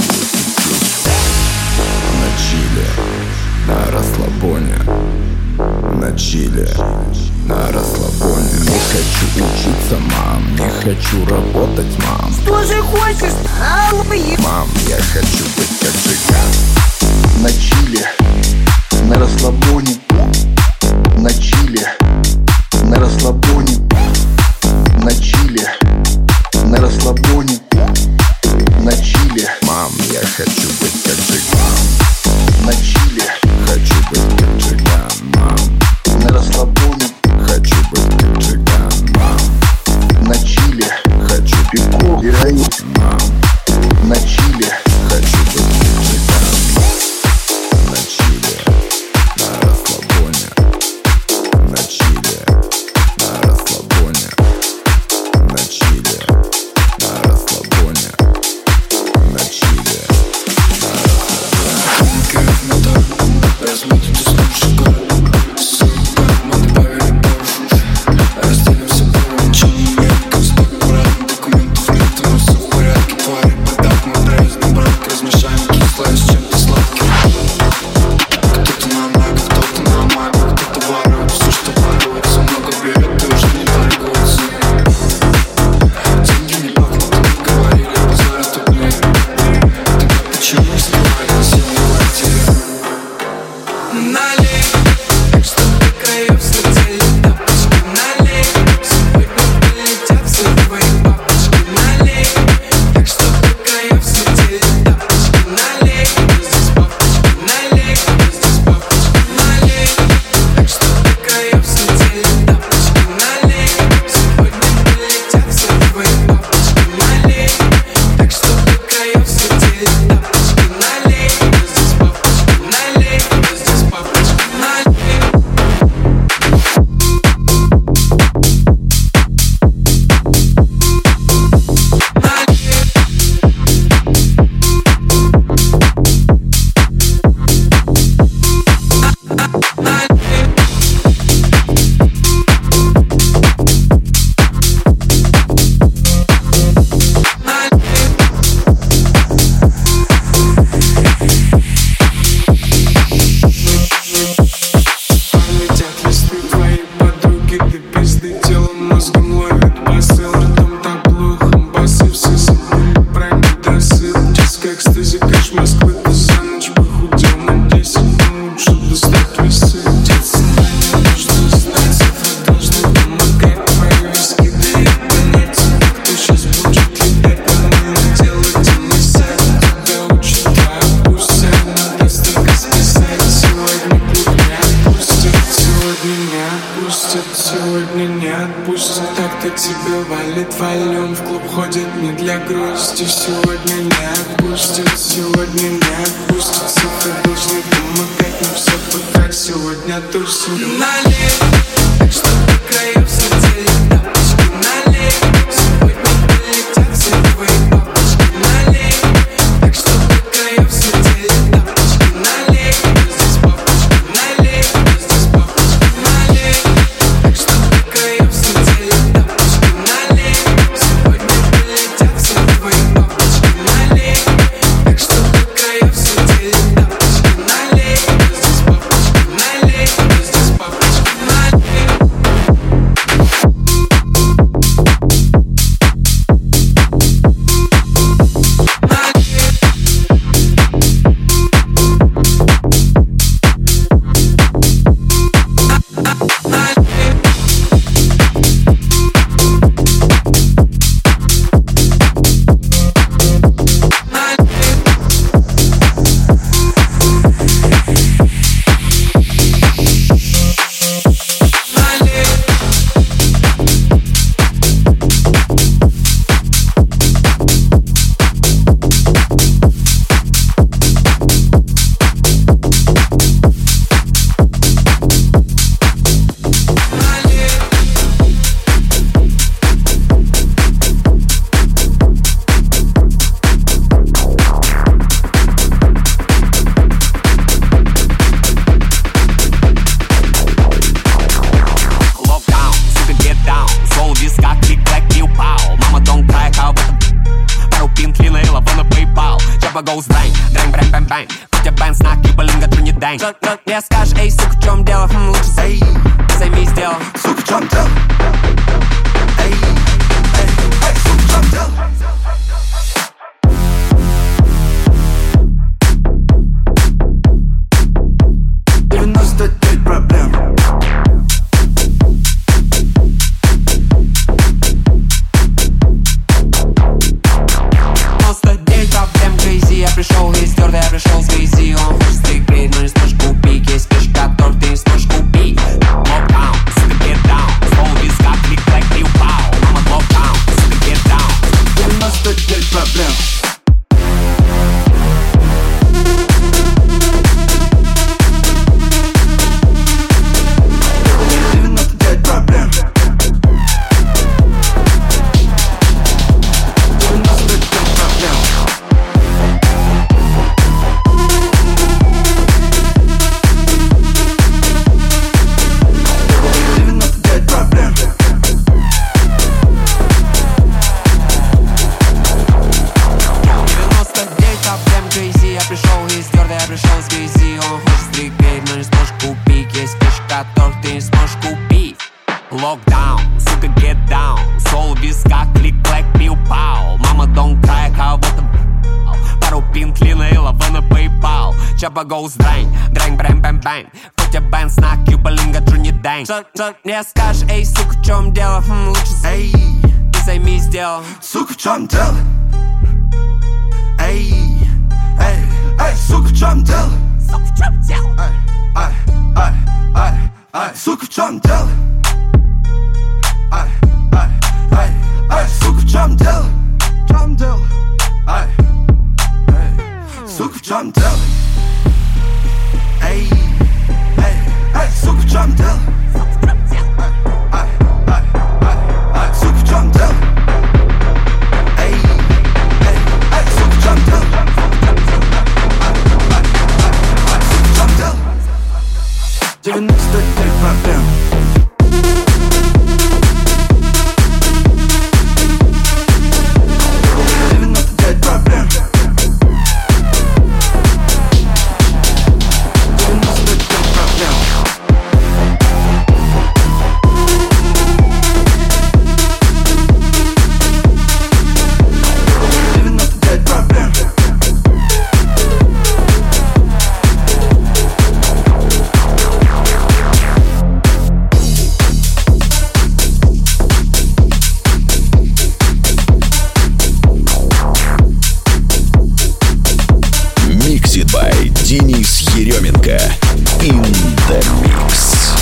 на чиле, на расслабоне, на чиле, на расслабоне. Не хочу учиться, мам, не хочу работать, мам. Что же хочешь, мам, я хочу быть как цыган. На чиле, на расслабоне, на чиле, на расслабоне, на чиле, на расслабоне, на чиле. Мам, я хочу быть как цыган. На чиле, хочу быть как цыган, мам. на расслабоне, хочу быть как цыган, мам. на чиле, хочу пивко, героин, мам. на чиле, хочу быть как цыган. На чиле, на расслабоне, на чиле, на расслабоне, на чиле, на расслабоне, на чиле, на расслабоне. Разметим ты снова город. Сука, мы добавили пару. Разделимся полночи. Как знак брат, документов нет, но все в порядке. Твари, подак, мы проездом, брат. Размешаем кислое с чем-то сладким. Кто-то на маг, кто-то на маг, кто-то ворует все, что воруется. Много берет, и уже не торгуется. Деньги не пахнут, не говорили, базар тут нет. Тогда почему скрывали сильные квартиры? Налей, чтобы краев слетели тапочки. Налей, сегодня полетят все твои папочки. Налей, так чтобы краев слетели тапочки. Налей, здесь папочки. Налей, здесь папочки. Налей, так чтобы краев слетели тапочки. Налей, сегодня полетят все твои папочки. Налей, так чтобы краев слетели тапочки. Налей, здесь папочки. Налей, здесь папочки. Летят листы твои подруги, ты пизды телом, мозгом ловит посыл. Ртом так плохо, басы все забыли про недосып. Детская экстази, кэш Москвы, ты за ночь похудел на 10, но лучше достать весы. Деться не нужно знать, цифры должны помогать. Твои виски дают понять, кто сейчас будет летать. По-моему, делать и не сядь. Тебя учит твоя пусть, надо столько списать. Сегодня путь не отпустят, сегодня не отпустят, сегодня не отпустят. Так-то тебе валит валюм, в клуб ходит не для грусти. Сегодня не отпустят, сегодня не отпустят. Цифры должны помогать, но все потрать. Сегодня тусим. Налей, так чтобы краев слетели тапочки. Налей, сегодня полетят все твои папочки. Налей, так чтобы краев слетели тапочки. Налей, здесь папочки. Налей, здесь папочки. Налей, так чтобы краев слетели тапочки. goes bang, дрэнг, брэм, бэм, бэм. Хотя бэн, знак, юбалинга, тру не дэнг. Не скажешь, эй, сука, в чем дело? Лучше займись делом. Сука, в чем дело? Эй, сука, в чем дело? 99 проблем. Я пришел из твердой, я пришел с грязи. Он хочет стрикрить, но не сможешь купить. Есть вещи, которые ты не сможешь купить. Локдаун, сука, get down. Слово виска, клик-клэк, пиу-пау. Мама, локдаун, сука, get down. 99 проблем. Локдаун, сука, get down. Сол виска, клик-клэк, пиу-пау. Мама, don't cry, кого-то пару пинтлина и лава на PayPal. Чаба goes дрэнг, дрэнг, брэм, бэм, бэм. Хотя бэн, знак, юбалинга, тру не дэнг. Не скажешь, эй, сука, в чем дело? Лучше займись делом. Сука, в чем дело? Эй, сука, в чем дело? Сука, в чем дело? Сука, в чем дело? Сука, в чем дело? Сука, в чем дело? Эй, сука, в чем дело? Сука, в чем дело? Эй, сука, в чем дело? Сука, в чем дело? 99 проблем. Денис Еременко in the mix.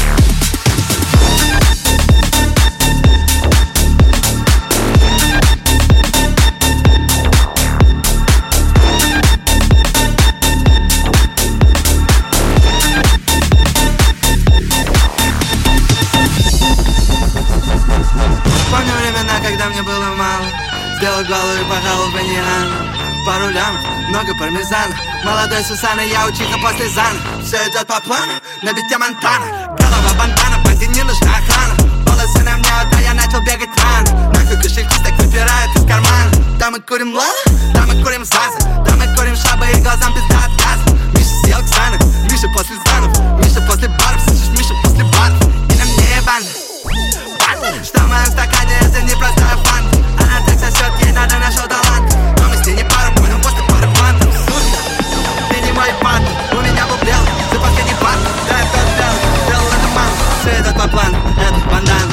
Помню времена, когда мне было мало. Сделал голову и пожалуй бы нереально. Пару лямов, много пармезана. Молодой Сусана, я учиха после Зана. Все идет по плану, на бите Монтана. Голова бандана, банде не нужна охрана. Волосы на мне, да я начал бегать рано. Нахуй кошельки так выпирают из кармана. Да мы курим лала, да мы курим заза. Да мы курим шабы и глазам пизда от газа. Миша съел Ксанов, Миша после Занов. Миша после баров, слышишь, Миша после баров. И на мне банда. Что в моем стакане, это не простая фанта. Она так сосет, ей надо нашел талант. Но мы с ней не пара, понял, после пары фантов. Ты не мой партнер, у меня был брел. Ты последний партнер, да я все сделал. Сделал это ман, все идет по плану, это бандан.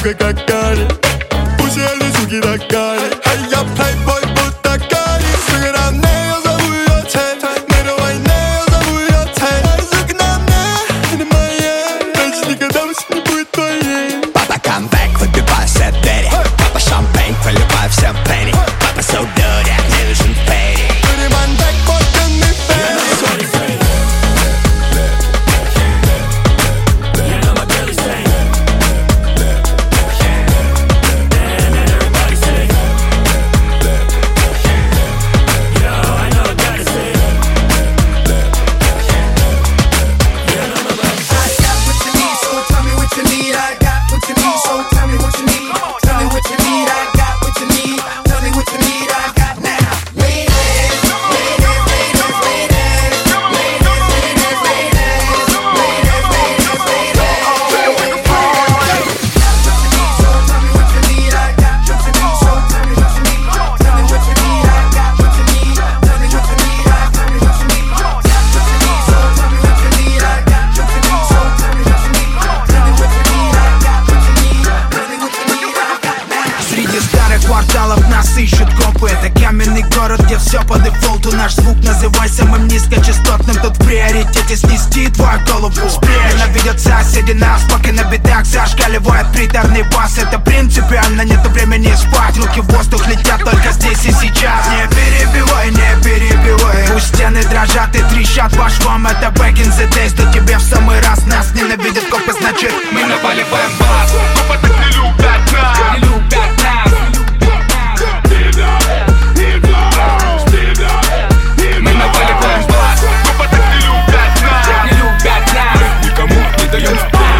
сука, как Кари. Пусть я не суки, так Кари. А я плейбой, будто Кари. Сука, на мне я зову ее Тей. Мира войны я зову ее Тей. Сука, на мне, ты не моей. Дальше никогда больше не будет твоей. Папа, камбэк, выбивай все двери. Папа, шампейн, проливай всем пенни. Папа, соудоря, мне нужен фейри. Все по дефолту, наш звук называй самым низкочастотным. Тут в приоритете снести твою голову. Ненавидят соседи нас, пока на битах зашкаливает приторный бас. Это принципиально, нету времени спать. Руки в воздух летят только здесь и сейчас. Не перебивай, не перебивай. Пусть стены дрожат и трещат по швам. Это back in the days, да тебе в самый раз. Нас ненавидят копы, значит мы наваливаем бас. Копы так не любят нас, не любят нас. Мы наваливаем бас, копы так не любят нас, не любят нас. Никому не даем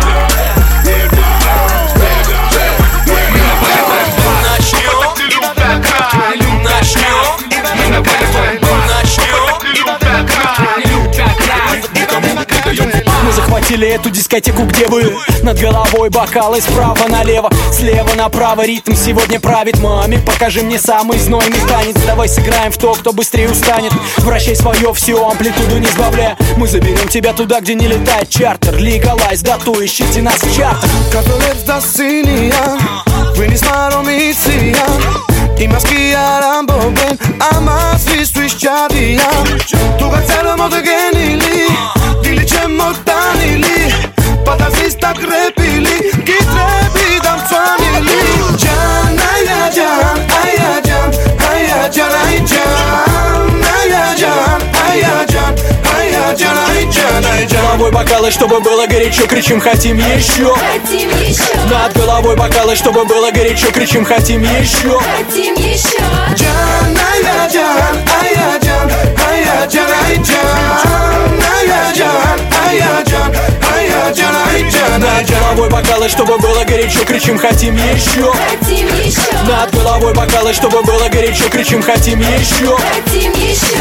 Мы наваливаем бас, копы так не любят нас, не любят нас. Мы наваливаем бас, копы так не любят нас, не любят нас. Никому не даем. Мы захватили эту дискотеку, где вы? Над головой бокалы справа налево, слева направо. Ритм сегодня правит. Маме, покажи мне самый знойный танец. Давай сыграем в то, кто быстрее устанет. Вращай свое все, амплитуду не сбавляя. Мы заберем тебя туда, где не летает чартер. Legalize, дату, ищите нас в чартах. Cabriolet da sinia, veni smaromizia. I maschi arambo ben, ama svistu isciadia. Tu gazzello modo genili, dilice mortanili. Patazista krepili, ki trebi dam family. Can, aya can, aya can, aya can, aya can, aya can, aya can, aya can, aya can, aya can. Головой бокалы, чтобы было горячо, кричим, хотим еще. Хотим еще. Над головой бокалы, чтобы было горячо, кричим, хотим еще. Хотим еще. Can, aya can, aya can, aya can, aya can, aya can, aya can, aya can, aya can. Над головой бокалы, чтобы было горячо, кричим, хотим еще. Хотим еще. Над головой бокалы, чтобы было горячо, кричим, хотим еще. Хотим еще.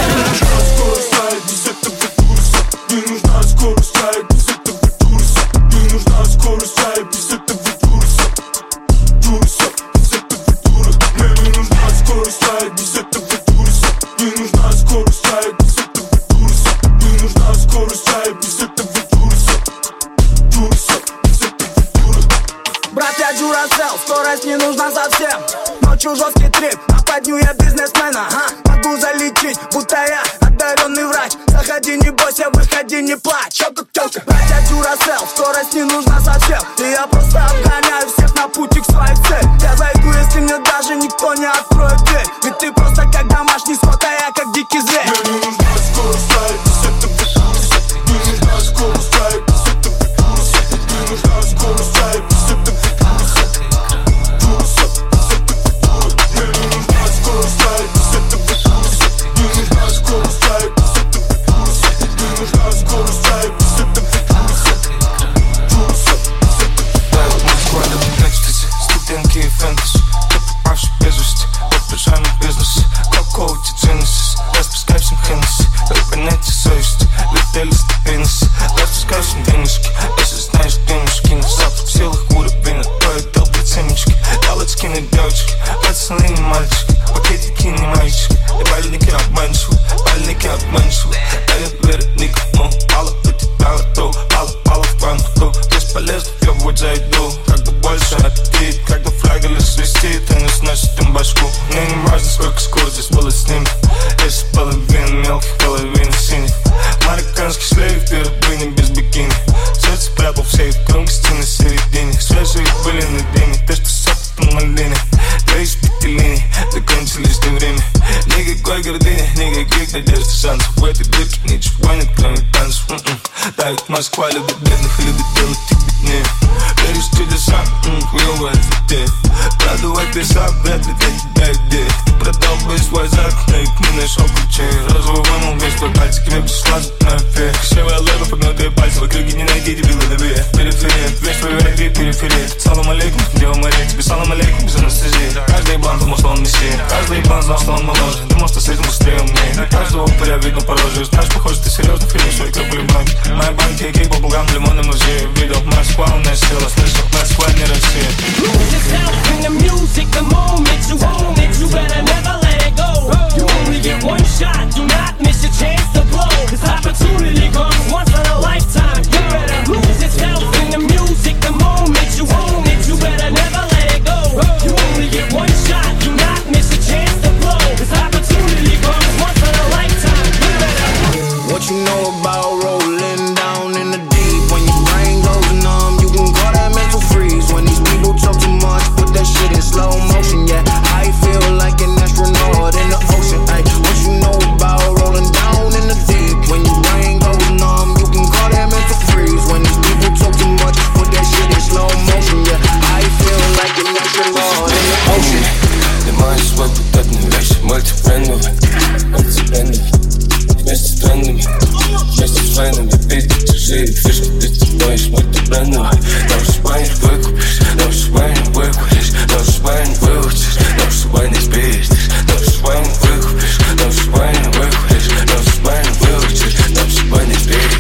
Мне нужна скорость, а без этого курса. Мне нужна скорость, а без этого курса. Курса, без этого курса. Мне нужна скорость, а без этого курса. Мне нужна скорость, а без этого курса. Мне нужна скорость, а без этого курса. Курса, без этого курса. Братья Duracell, скорость не нужна совсем. Ночью жесткий трип, нападню я бизнесмена. Могу залечить, будто я одаренный врач. Заходи, не бойся, выходи, не плачь. Братья Duracell, скорость не нужна совсем. И я просто обгоняю всех на пути к своей цели. Я зайду, если мне даже никто не откроет дверь. Ведь ты просто как домашний скот, а я как дикий зверь. Мне нужна скорость, а без этого курса. Мне нужна скорость, а без этого курса. Мне нужна скорость, а без этого курса. Курса, без этого курса. Мне нужна скорость, а без этого курса. Мне нужна скорость, а без этого курса. Мне нужна скорость, а без этого курса. Курса, без этого курса. Экстази, студентки и фэнтези. Ты попавший без вести, подпряжаемый бизнес. Какого-то Genesis, распускай всем Хеннесси. Дай понятие совести, летели стабильности. Распускай всем денежки, если знаешь денежки. На запах в силах уровень, твои долбят семечки. Давай скинуть девочки, пацаны не мальчики. Пакетики не мальчики, и бальники обманчивы. Бальники обманчивы, дают верить никому. Пала у тебя готов, пала в банку. Бесполезно, я в зайду, как бы больше аппетит. этой дырке ничего нет, кроме танцев. Давит Москва, любит бедных и любит делать их беднее. Веришь в чудеса, хуёвая затея. Продувать песок, вряд ли для тебя идея. Ты продал бы свой зад, но и мы нашел ключи. Розовый вымыл весь твой пальцы, к тебе пришла зубная фея. Красивая лэба, погнутые пальцы, в округе не найти дебила добее. Периферия, весь твой век, периферия. Салам алейкум, Дева Мария, тебе салам алейкум без анестезии. Каждый ебан думал, что он мессия. Каждый ебан знал, что он моложе. Думал, что с этим быстрее умнее. На каждого упыря видно по роже. Знаешь, похоже, ты серьезно, фильм, свой капли банки. Моя банки, кейк, бабугам, лимонный музей. Видел, Москва, у нас сила, слышал, Москва, не Россия. Lose yourself in the music, the moment you own it, you better never let it go. You only get one shot, do not miss your chance to blow. This opportunity comes once in a lifetime. You better lose yourself in the music, the moment you own it, you better never let it go. You only get one shot, do not miss your chance to blow. This opportunity comes once in a lifetime. You better. What you know about rolling down in the deep? When your brain goes numb, you can call that mental freeze. When these people talk too much, put that shit in slow motion. Yeah, I feel like an astronaut in the ocean. Ay, what you know about rolling down in the deep? When your brain goes numb, you can call that mental freeze. When these people talk too much, put that shit in slow motion. Yeah, I feel like an astronaut in the ocean. Ты можешь свой путатный вещи, мультибрендовый, вместе с трендами, вместе с войнами, пиздить чужие фишки, ты стоишь мультибрендовый. Дальше шпай не выкупишь, дальше шпай не выкуришь, дальше шпай не выучишь, дальше шпай не спиздишь, дальше шпай не выкупишь, дальше шпай не выкуришь, дальше шпай не выучишь, дальше шпай не спиздишь.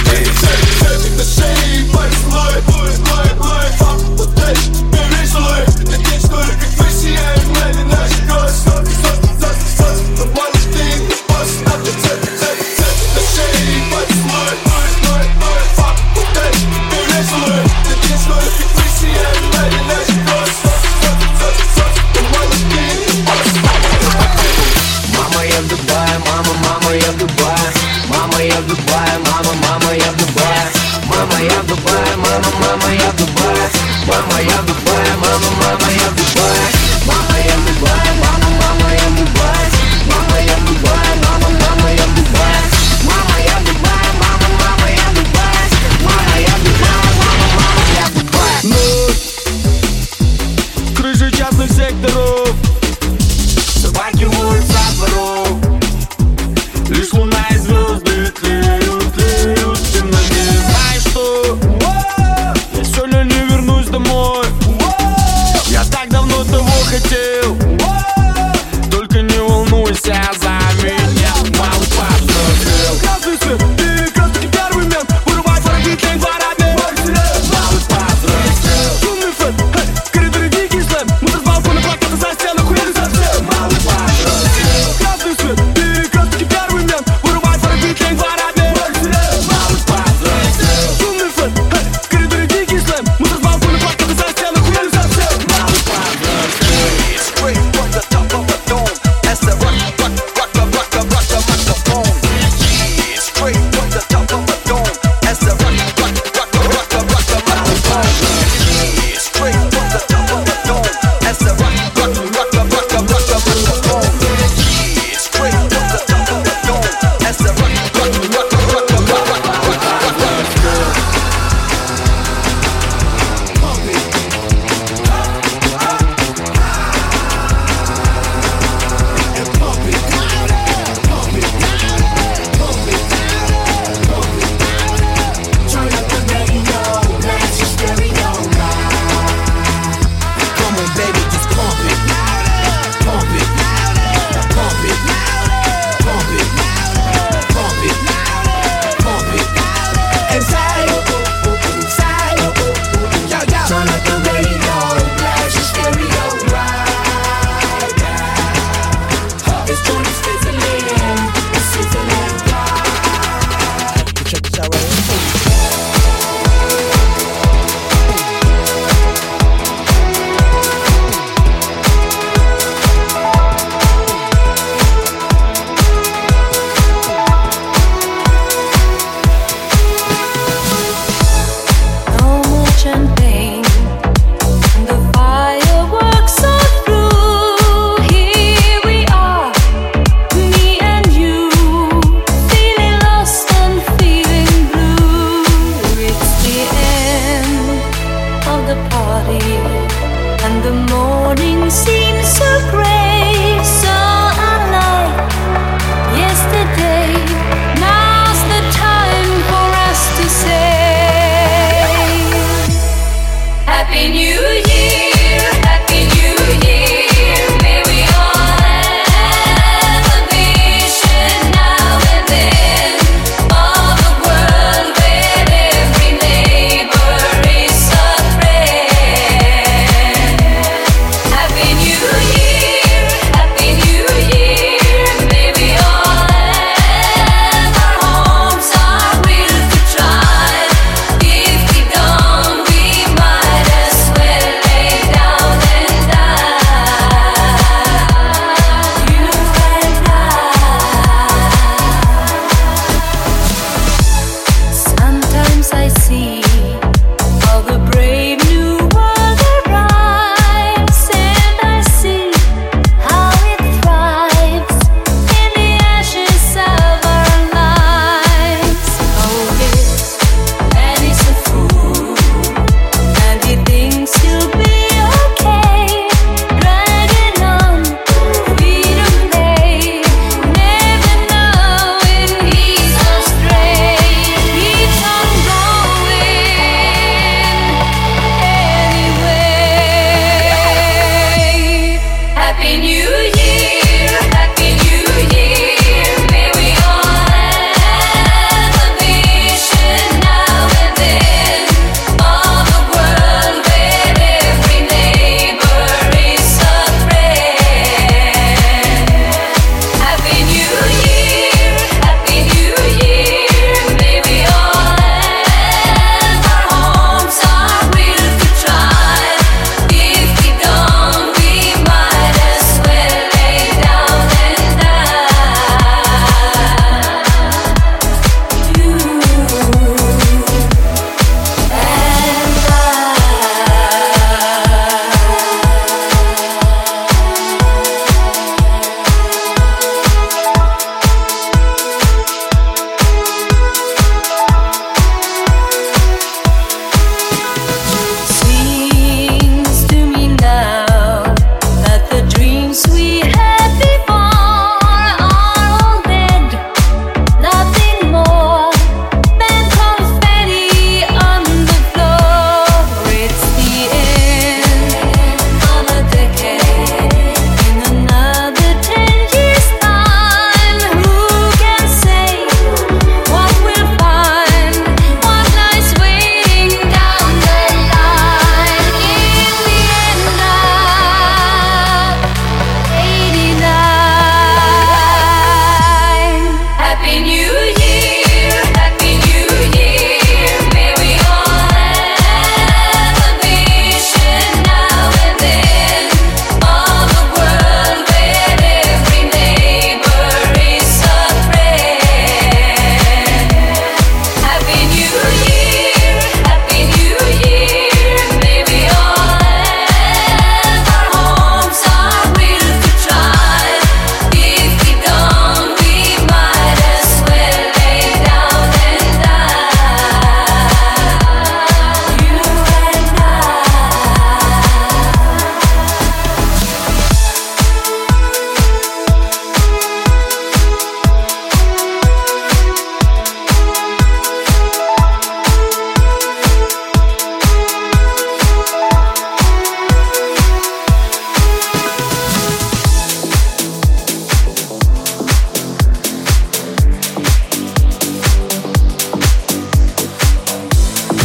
Мама, я в Дубае, мама, я в Дубае. Мама, я в Дубае, мама, я в Дубае. Мама, я в Дубае, мама, я в Дубае. Мама, я в Дубае, мама, я в Дубае. Мама, я в Дубае, мама, я в Дубае. Мама, я в Дубае, мама, я в Дубае. Мама, я в Дубае, мама, я в Дубае. Мама, я в Дубае, мама, я в Дубае. Крыши частных секторов, собаки воют со дворов. лишь луна и звезды тлеют, ты на ней. Знаешь что? Я сегодня не вернусь домой. Я так давно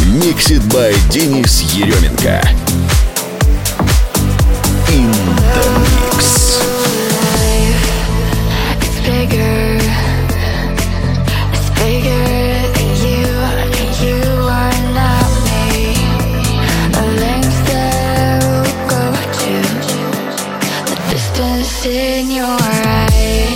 Mixed by Денис Еременко. In the mix. It's bigger than you are not me. The lengths that will go to, the distance in your eyes.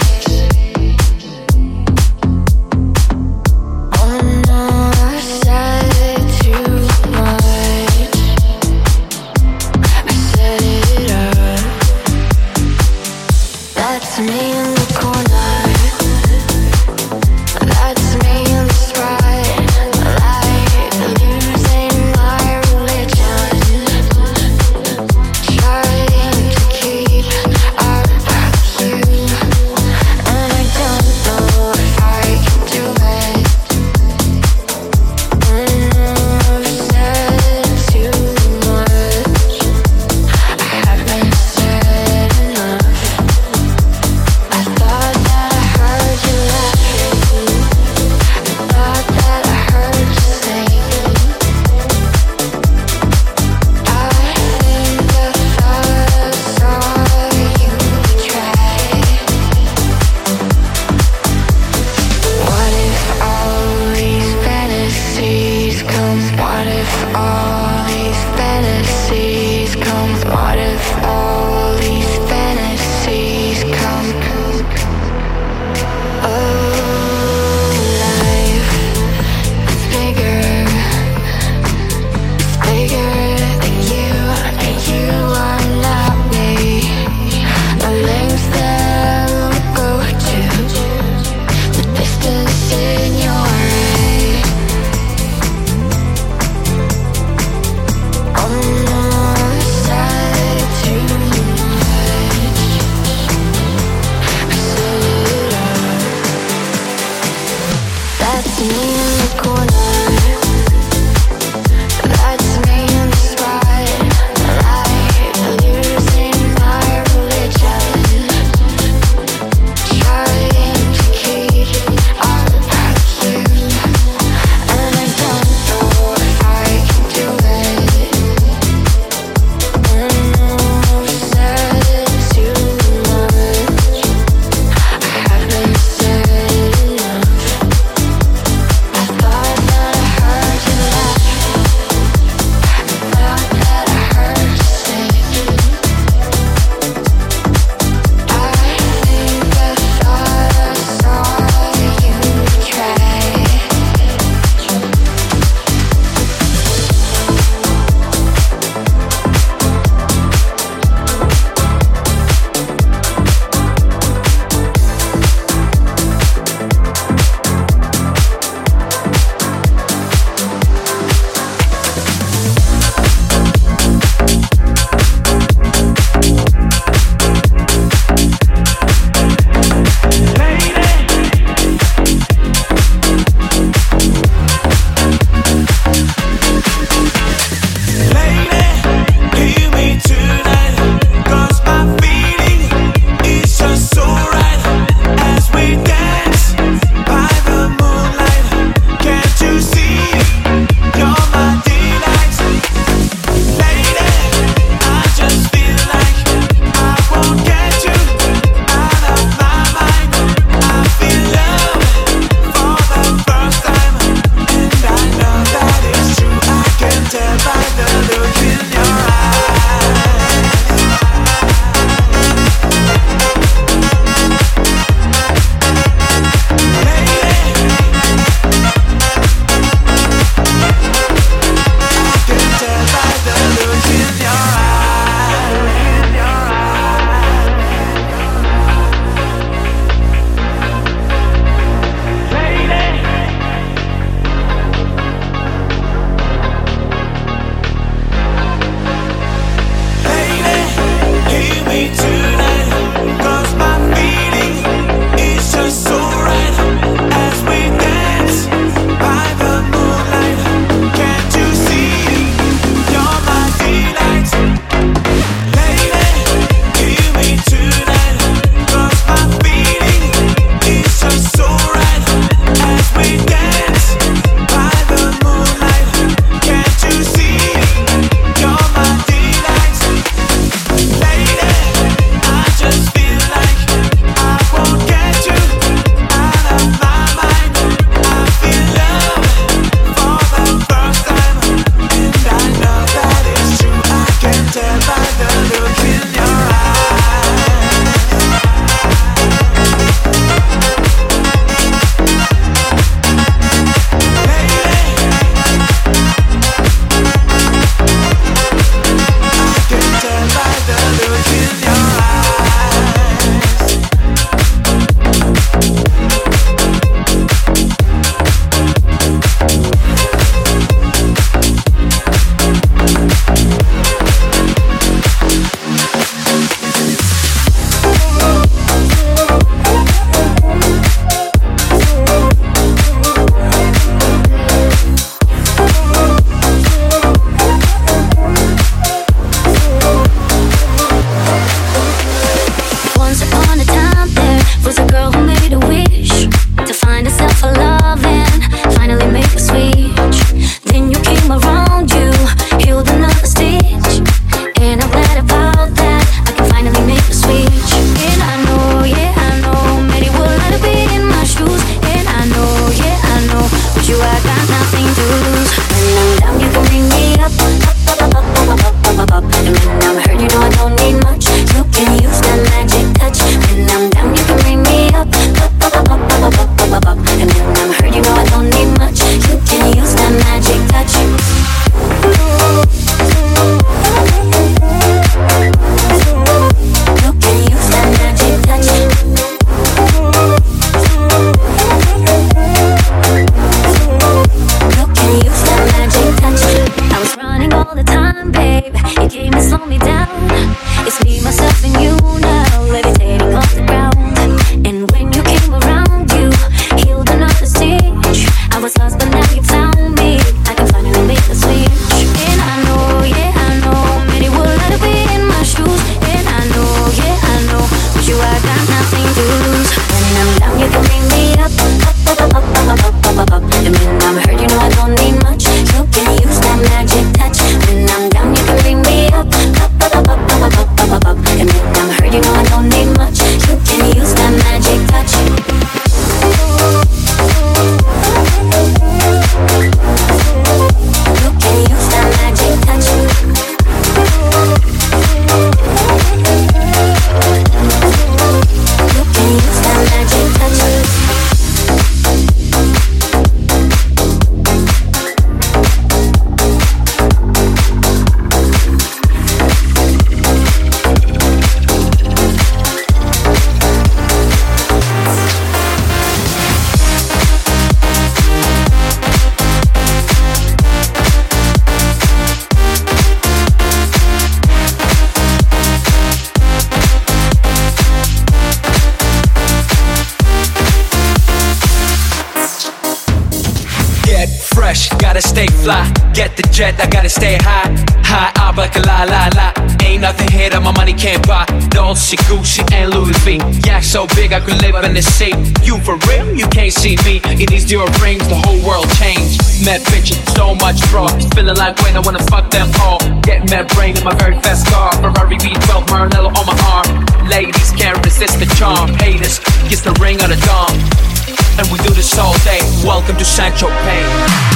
fresh, gotta stay fly. Get the jet, I gotta stay high. High up like a la la la. Ain't nothing here that my money can't buy. Dolce, Gucci, and Louis V. Yeah, so big I could live in the sea. You for real? You can't see me. In these Dior rings, the whole world changed. Mad bitches, so much fraud. Feeling like when I wanna fuck them all. Get mad brain in my very fast car. Ferrari V12, Maranello on my arm. Ladies can't resist the charm. Haters, kiss the ring of the dawn. And we do this all day. Welcome to Saint-Tropez.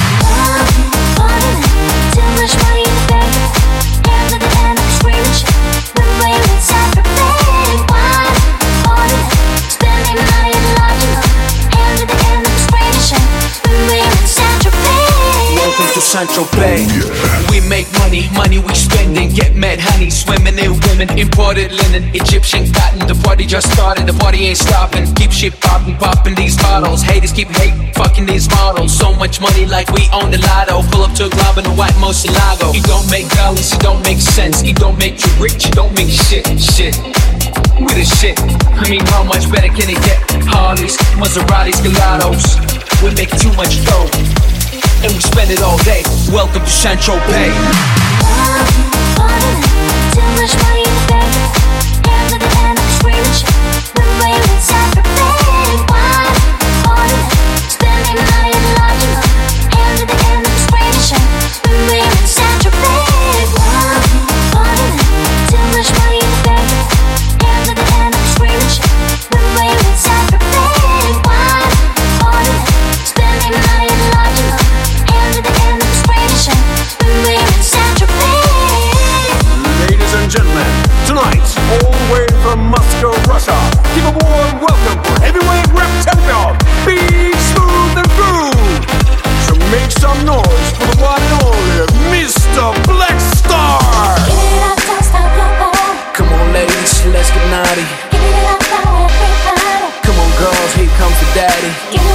Too much money in the bank. End of the end, I'm screaming. When we're in Saint-Tropez. Wine on it. Spending money in London. End of the end, I'm screaming. When we're in Saint-Tropez. Welcome to Saint-Tropez. We make money, money we spending. Get mad honey, swimming in women. Imported linen, Egyptian cotton. The party just started, the party ain't stopping. Keep shit popping, popping these bottles. Haters keep hating, fucking these models. So much money like we own the lotto. Pull up to a club in a white Murcielago. It don't make dollars, it don't make sense. It don't make you rich, it don't make shit. We the shit. I mean, how much better can it get? Harleys, Maseratis, Gelatos. We make too much dough, and we spend it all day. Welcome to Saint-Tropez. Too much money in the bank. End of the end, I'm screaming. When we're in Saint-Tropez. Wine on it. Spending money in London. End of the end, I'm screaming. When we're in Saint-Tropez. Wine on it. Too much money in the bank. End of the end, I'm screaming. When we're in Saint-Tropez. Wine on it. Spending money in London. End of the end, I'm screaming. When we're in Saint-Tropez. Ladies and gentlemen, tonight, all the way from Moscow, Russia, give a warm welcome for heavyweight rap champion, Big Smooth and Groove. So make some noise for the one and only Mr. Black Star. Come on ladies, let's get naughty. Come on girls, here comes the daddy.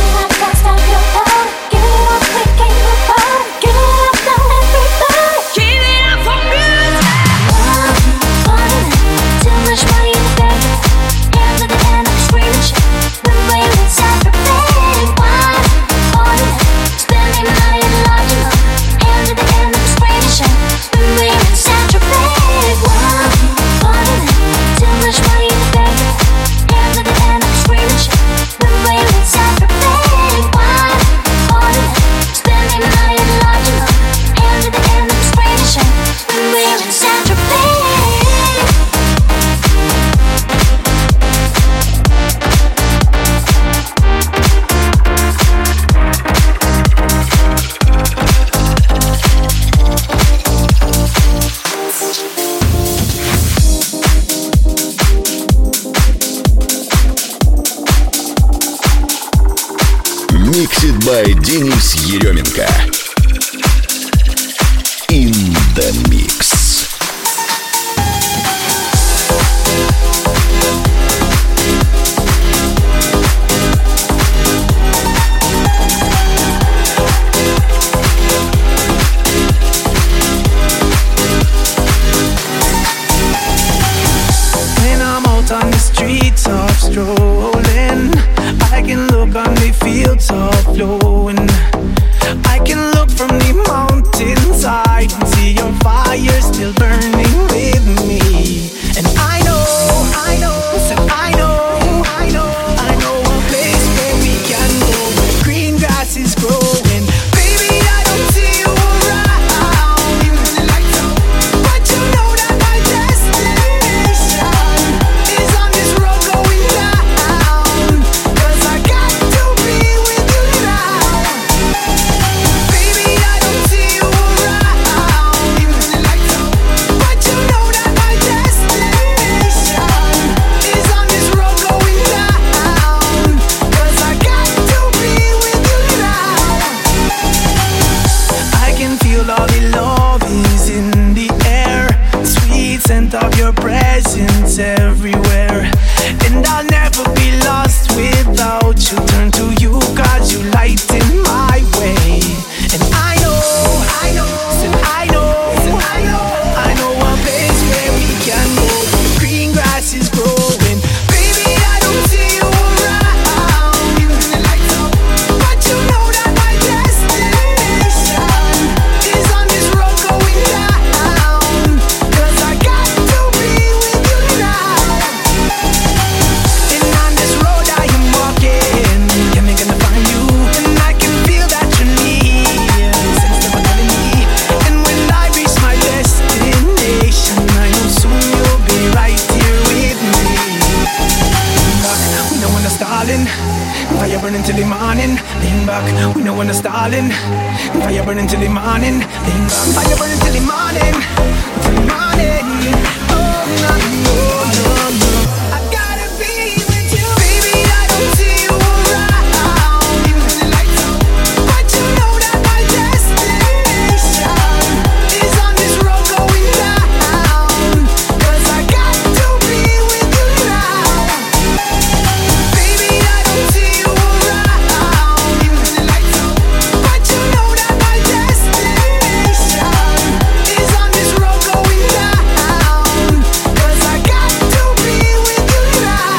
Mixed by Денис Еременко. In the mix. When I'm out on the streets of strolling, I can look on the fields of flowing. I can look from the mountainside and see your fire still burning with me. And I know, said I know a place where we can go, where green grass is growing. Baby, I don't see you around, but you know that my destination is on this road going down. 'Cause I got to be with you now. Baby, I don't see you around, but you know that my destination is on this road going down. when it's stalling. Fire burning till the morning. Fire burning till the morning. Till the morning. Oh, no, no, no, no. I gotta be with you. Baby, I don't see you around. Even when the lights out. But you know that my destination is on this road going down. 'Cause I got to be with you now. Baby, I don't see you around. Even when the lights out. But you know that my destination is on this road going down. 'Cause I got to be with you now.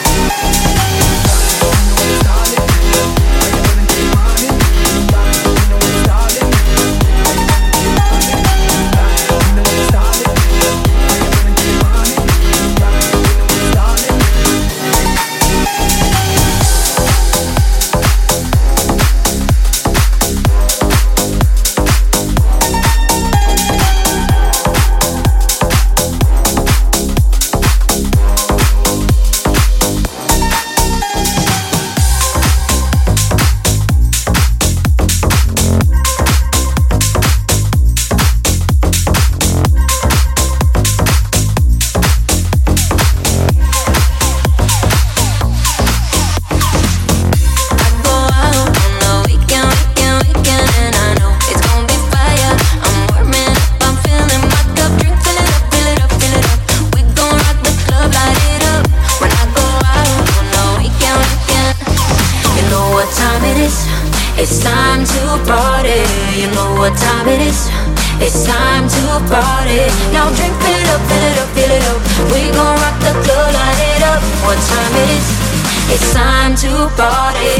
It's time to party. You know what time it is. It's time to party. Now drink, fill it up, fill it up, fill it up. We gon' rock the club, light it up. What time it is? It's time to party.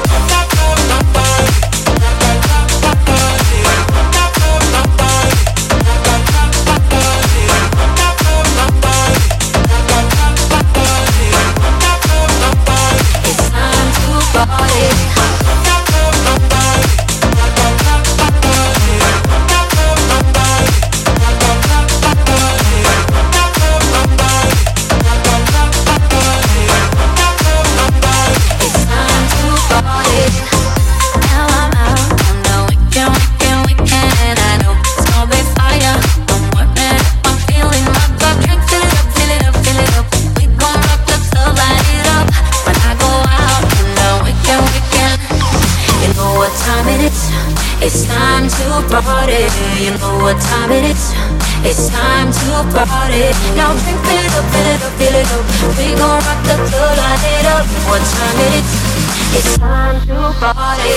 It's time to party. You know what time it is. It's time to party. Now drink, fill it up, fill it up, fill it up. We gon' rock the club, light it up. What time it is. It's time to party.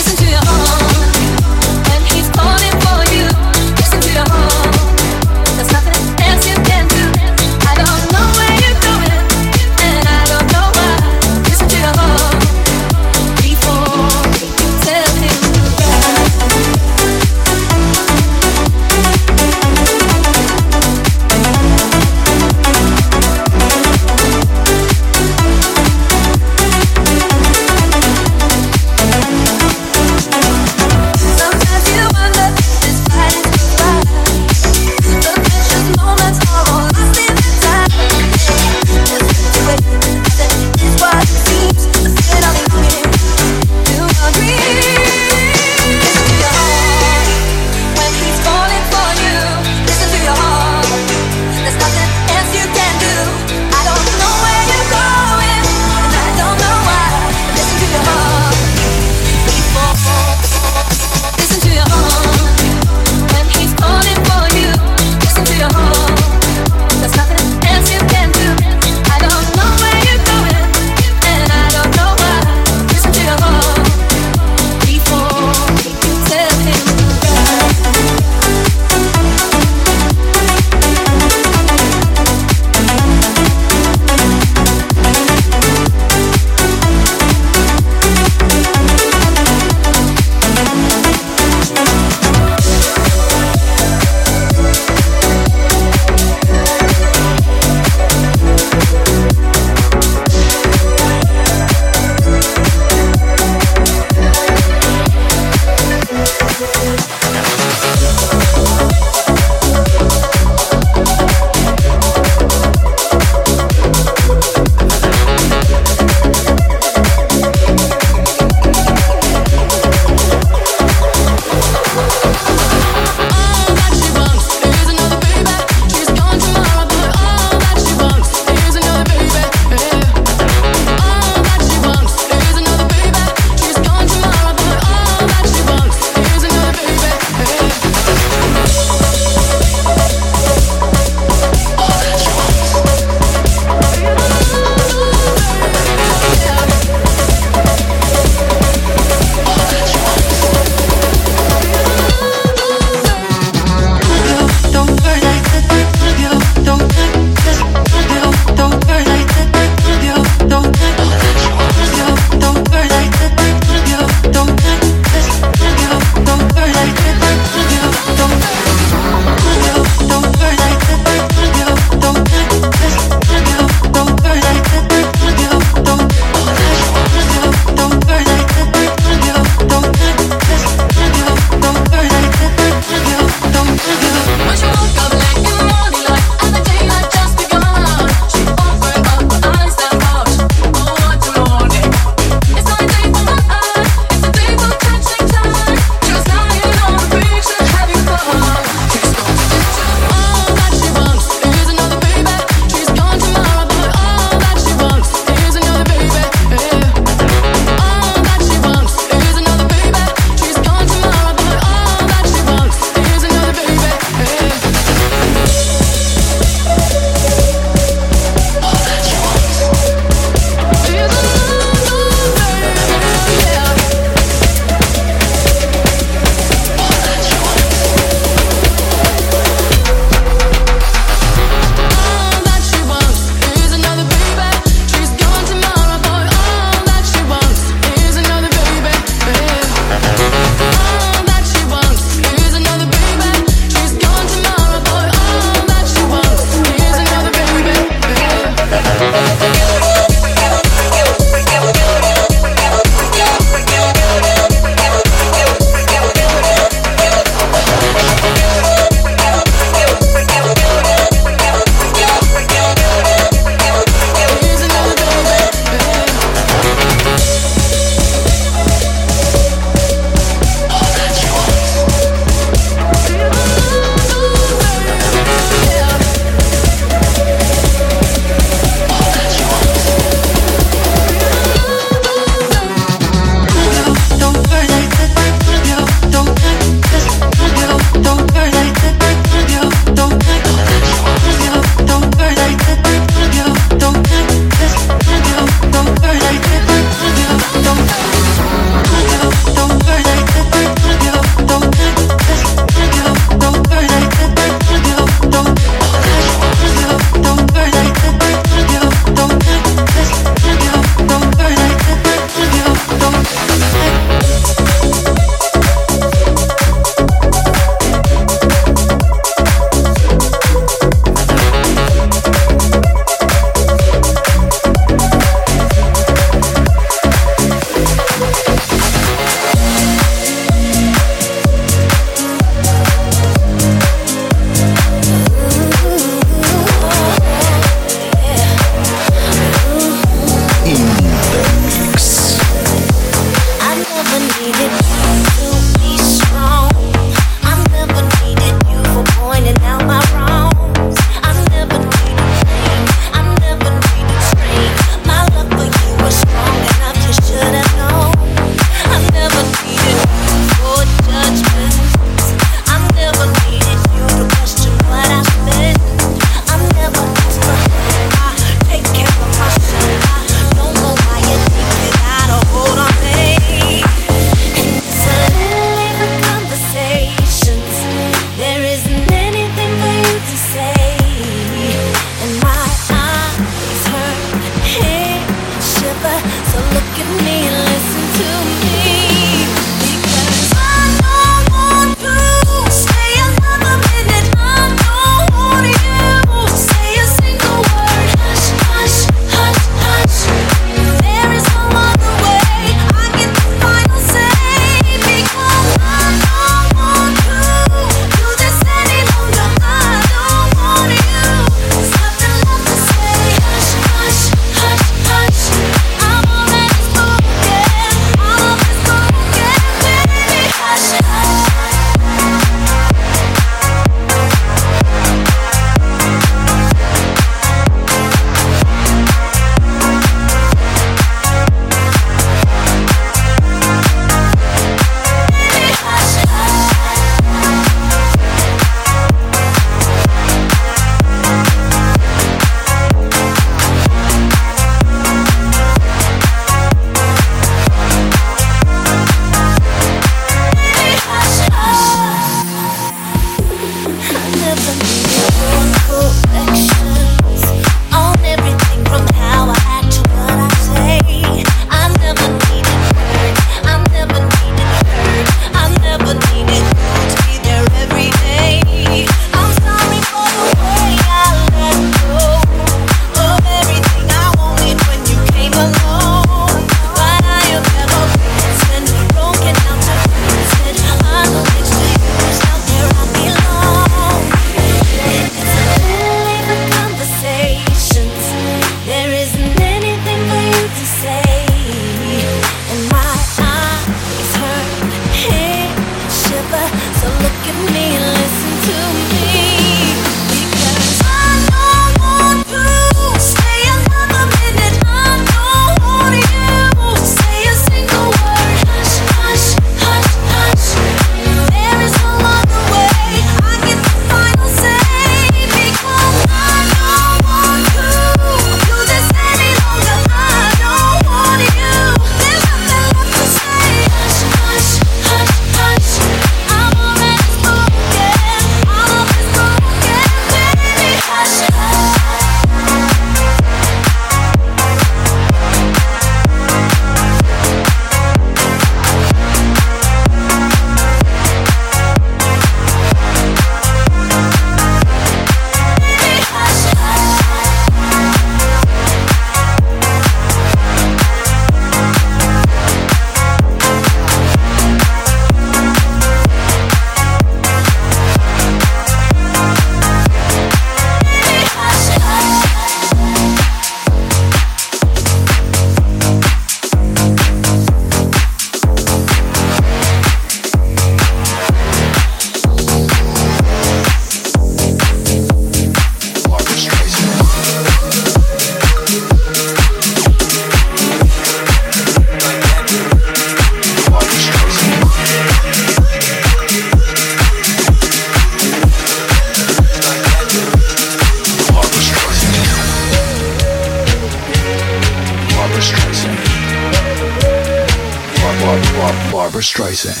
Barbra Streisand.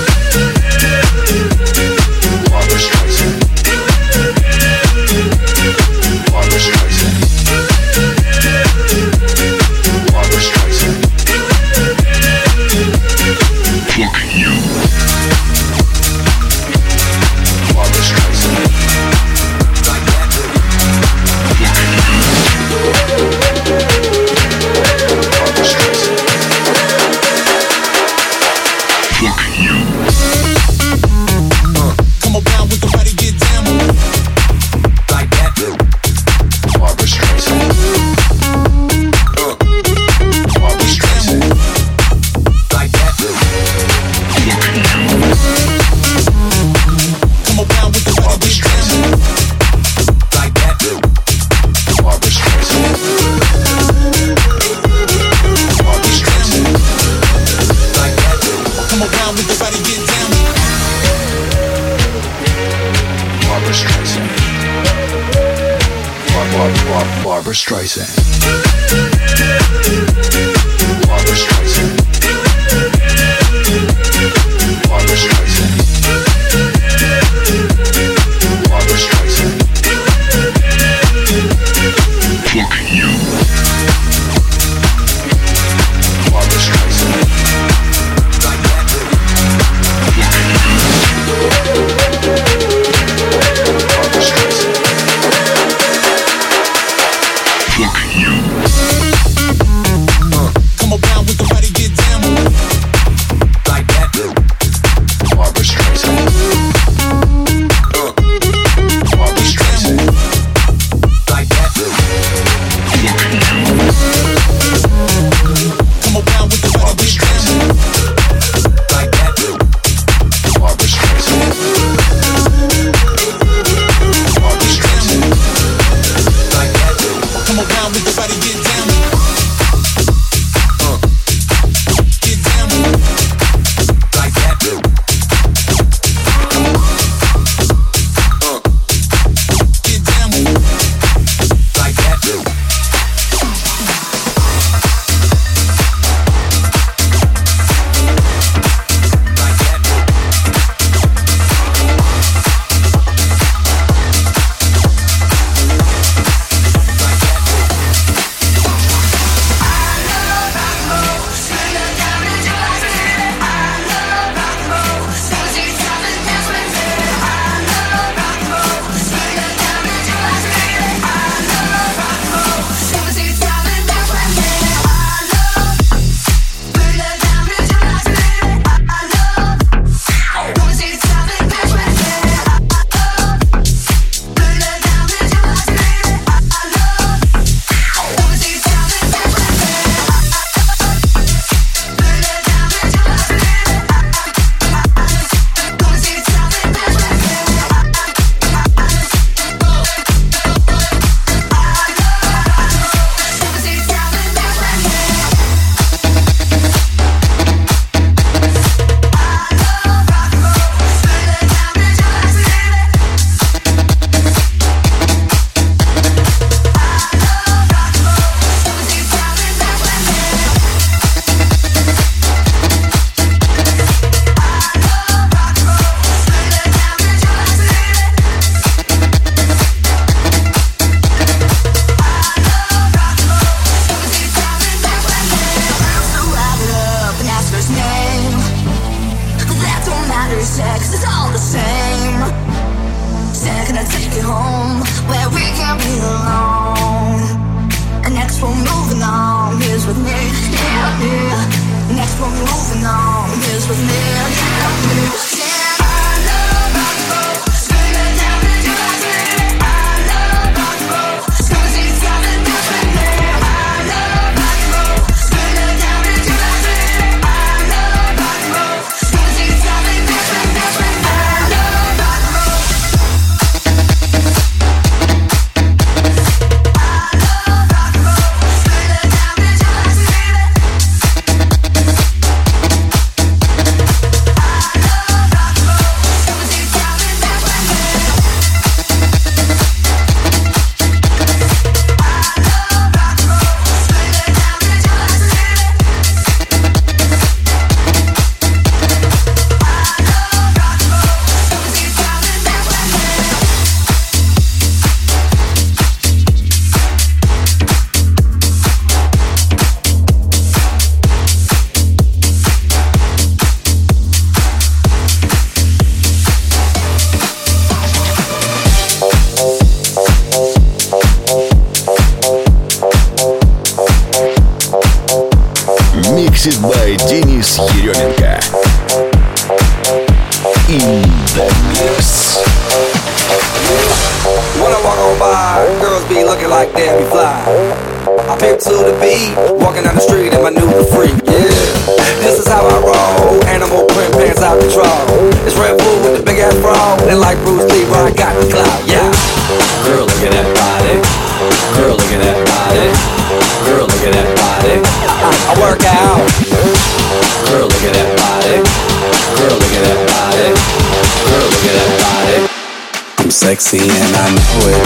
Barbra Streisand. Barbra Streisand. Barbra Streisand. Fuck you. Barbra Streisand. Like that. Fuck you. Barbra Streisand. Fuck you. Come around with the body, get down. Like that. Barbra Streisand. Barbra Streisand. Like that. Fuck you. Come around with the body, get down. Like that. Barbra Streisand. Barbra Streisand. Like that. Come around with the body, get down. Barbra Streisand. Barbra Streisand. Barbra Streisand. Barbra Streisand. Barbra Streisand. Fuck you. Barbra Streisand. Like that. Fuck you. Barbra Streisand. Fuck you. Come around with the body, get down. Like that. Barbra Streisand. Barbra Streisand. Like that. Fuck you. Come around with the body, get down. Like that. Barbra Streisand. Barbra Streisand. Like that. Come around with the body, get down. Get down. Like that. Get down. Like that. Sex is all the same. Second I take you home where we can be alone. And next we're moving on. Here's with me, yeah, yeah. Next we're moving on. Here's with me, yeah, yeah. Mixed by Денис Еременко. In the mix. When I walk on by, girls be looking like Debbie Fly. I pimp to the beat, walking down the street in my new freak, yeah. This is how I roll, animal print pants out control. It's Red Bull with the big ass bra, and like Bruce Lee, I got the clout, yeah. Girl, look at that body. Girl, look at that body. Girl, look at that body. I work out. Girl, look at that body. Girl, look at that body. Girl, look at that body. I'm sexy and I know it.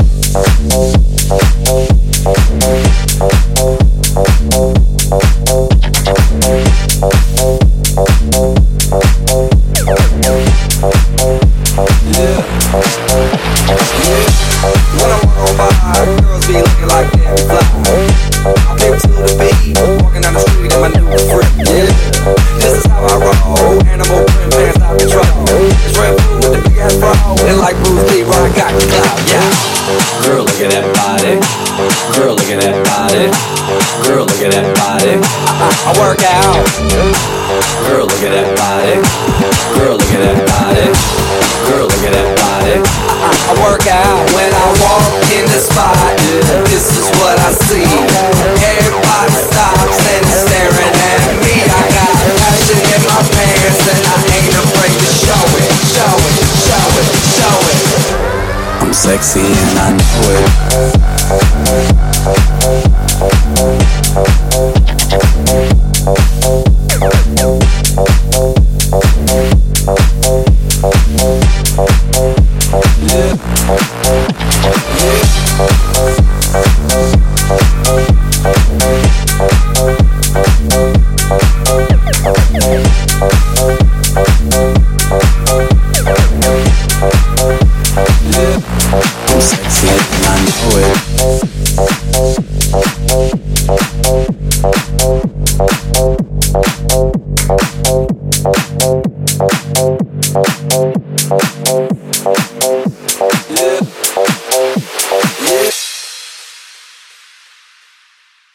When I walk on by, girls be looking like Debbie Fly. I pimp to the beat, walking down the street in my new freak, yeah. This is how I roll, animal print pants out control. It's Red Bull with the big ass bra, and like Bruce Lee, I got the clout, yeah. Girl, look at that body. Girl, look at that body. Girl, look at that body. I work out. Girl, look at that body. Girl, look at that body. Girl, look at that body. I work out when I walk in the spot. This is what I see. Everybody stops and is staring at me. I got passion in my pants and I ain't afraid to show it. Show it, show it, show it. I'm sexy and I know it.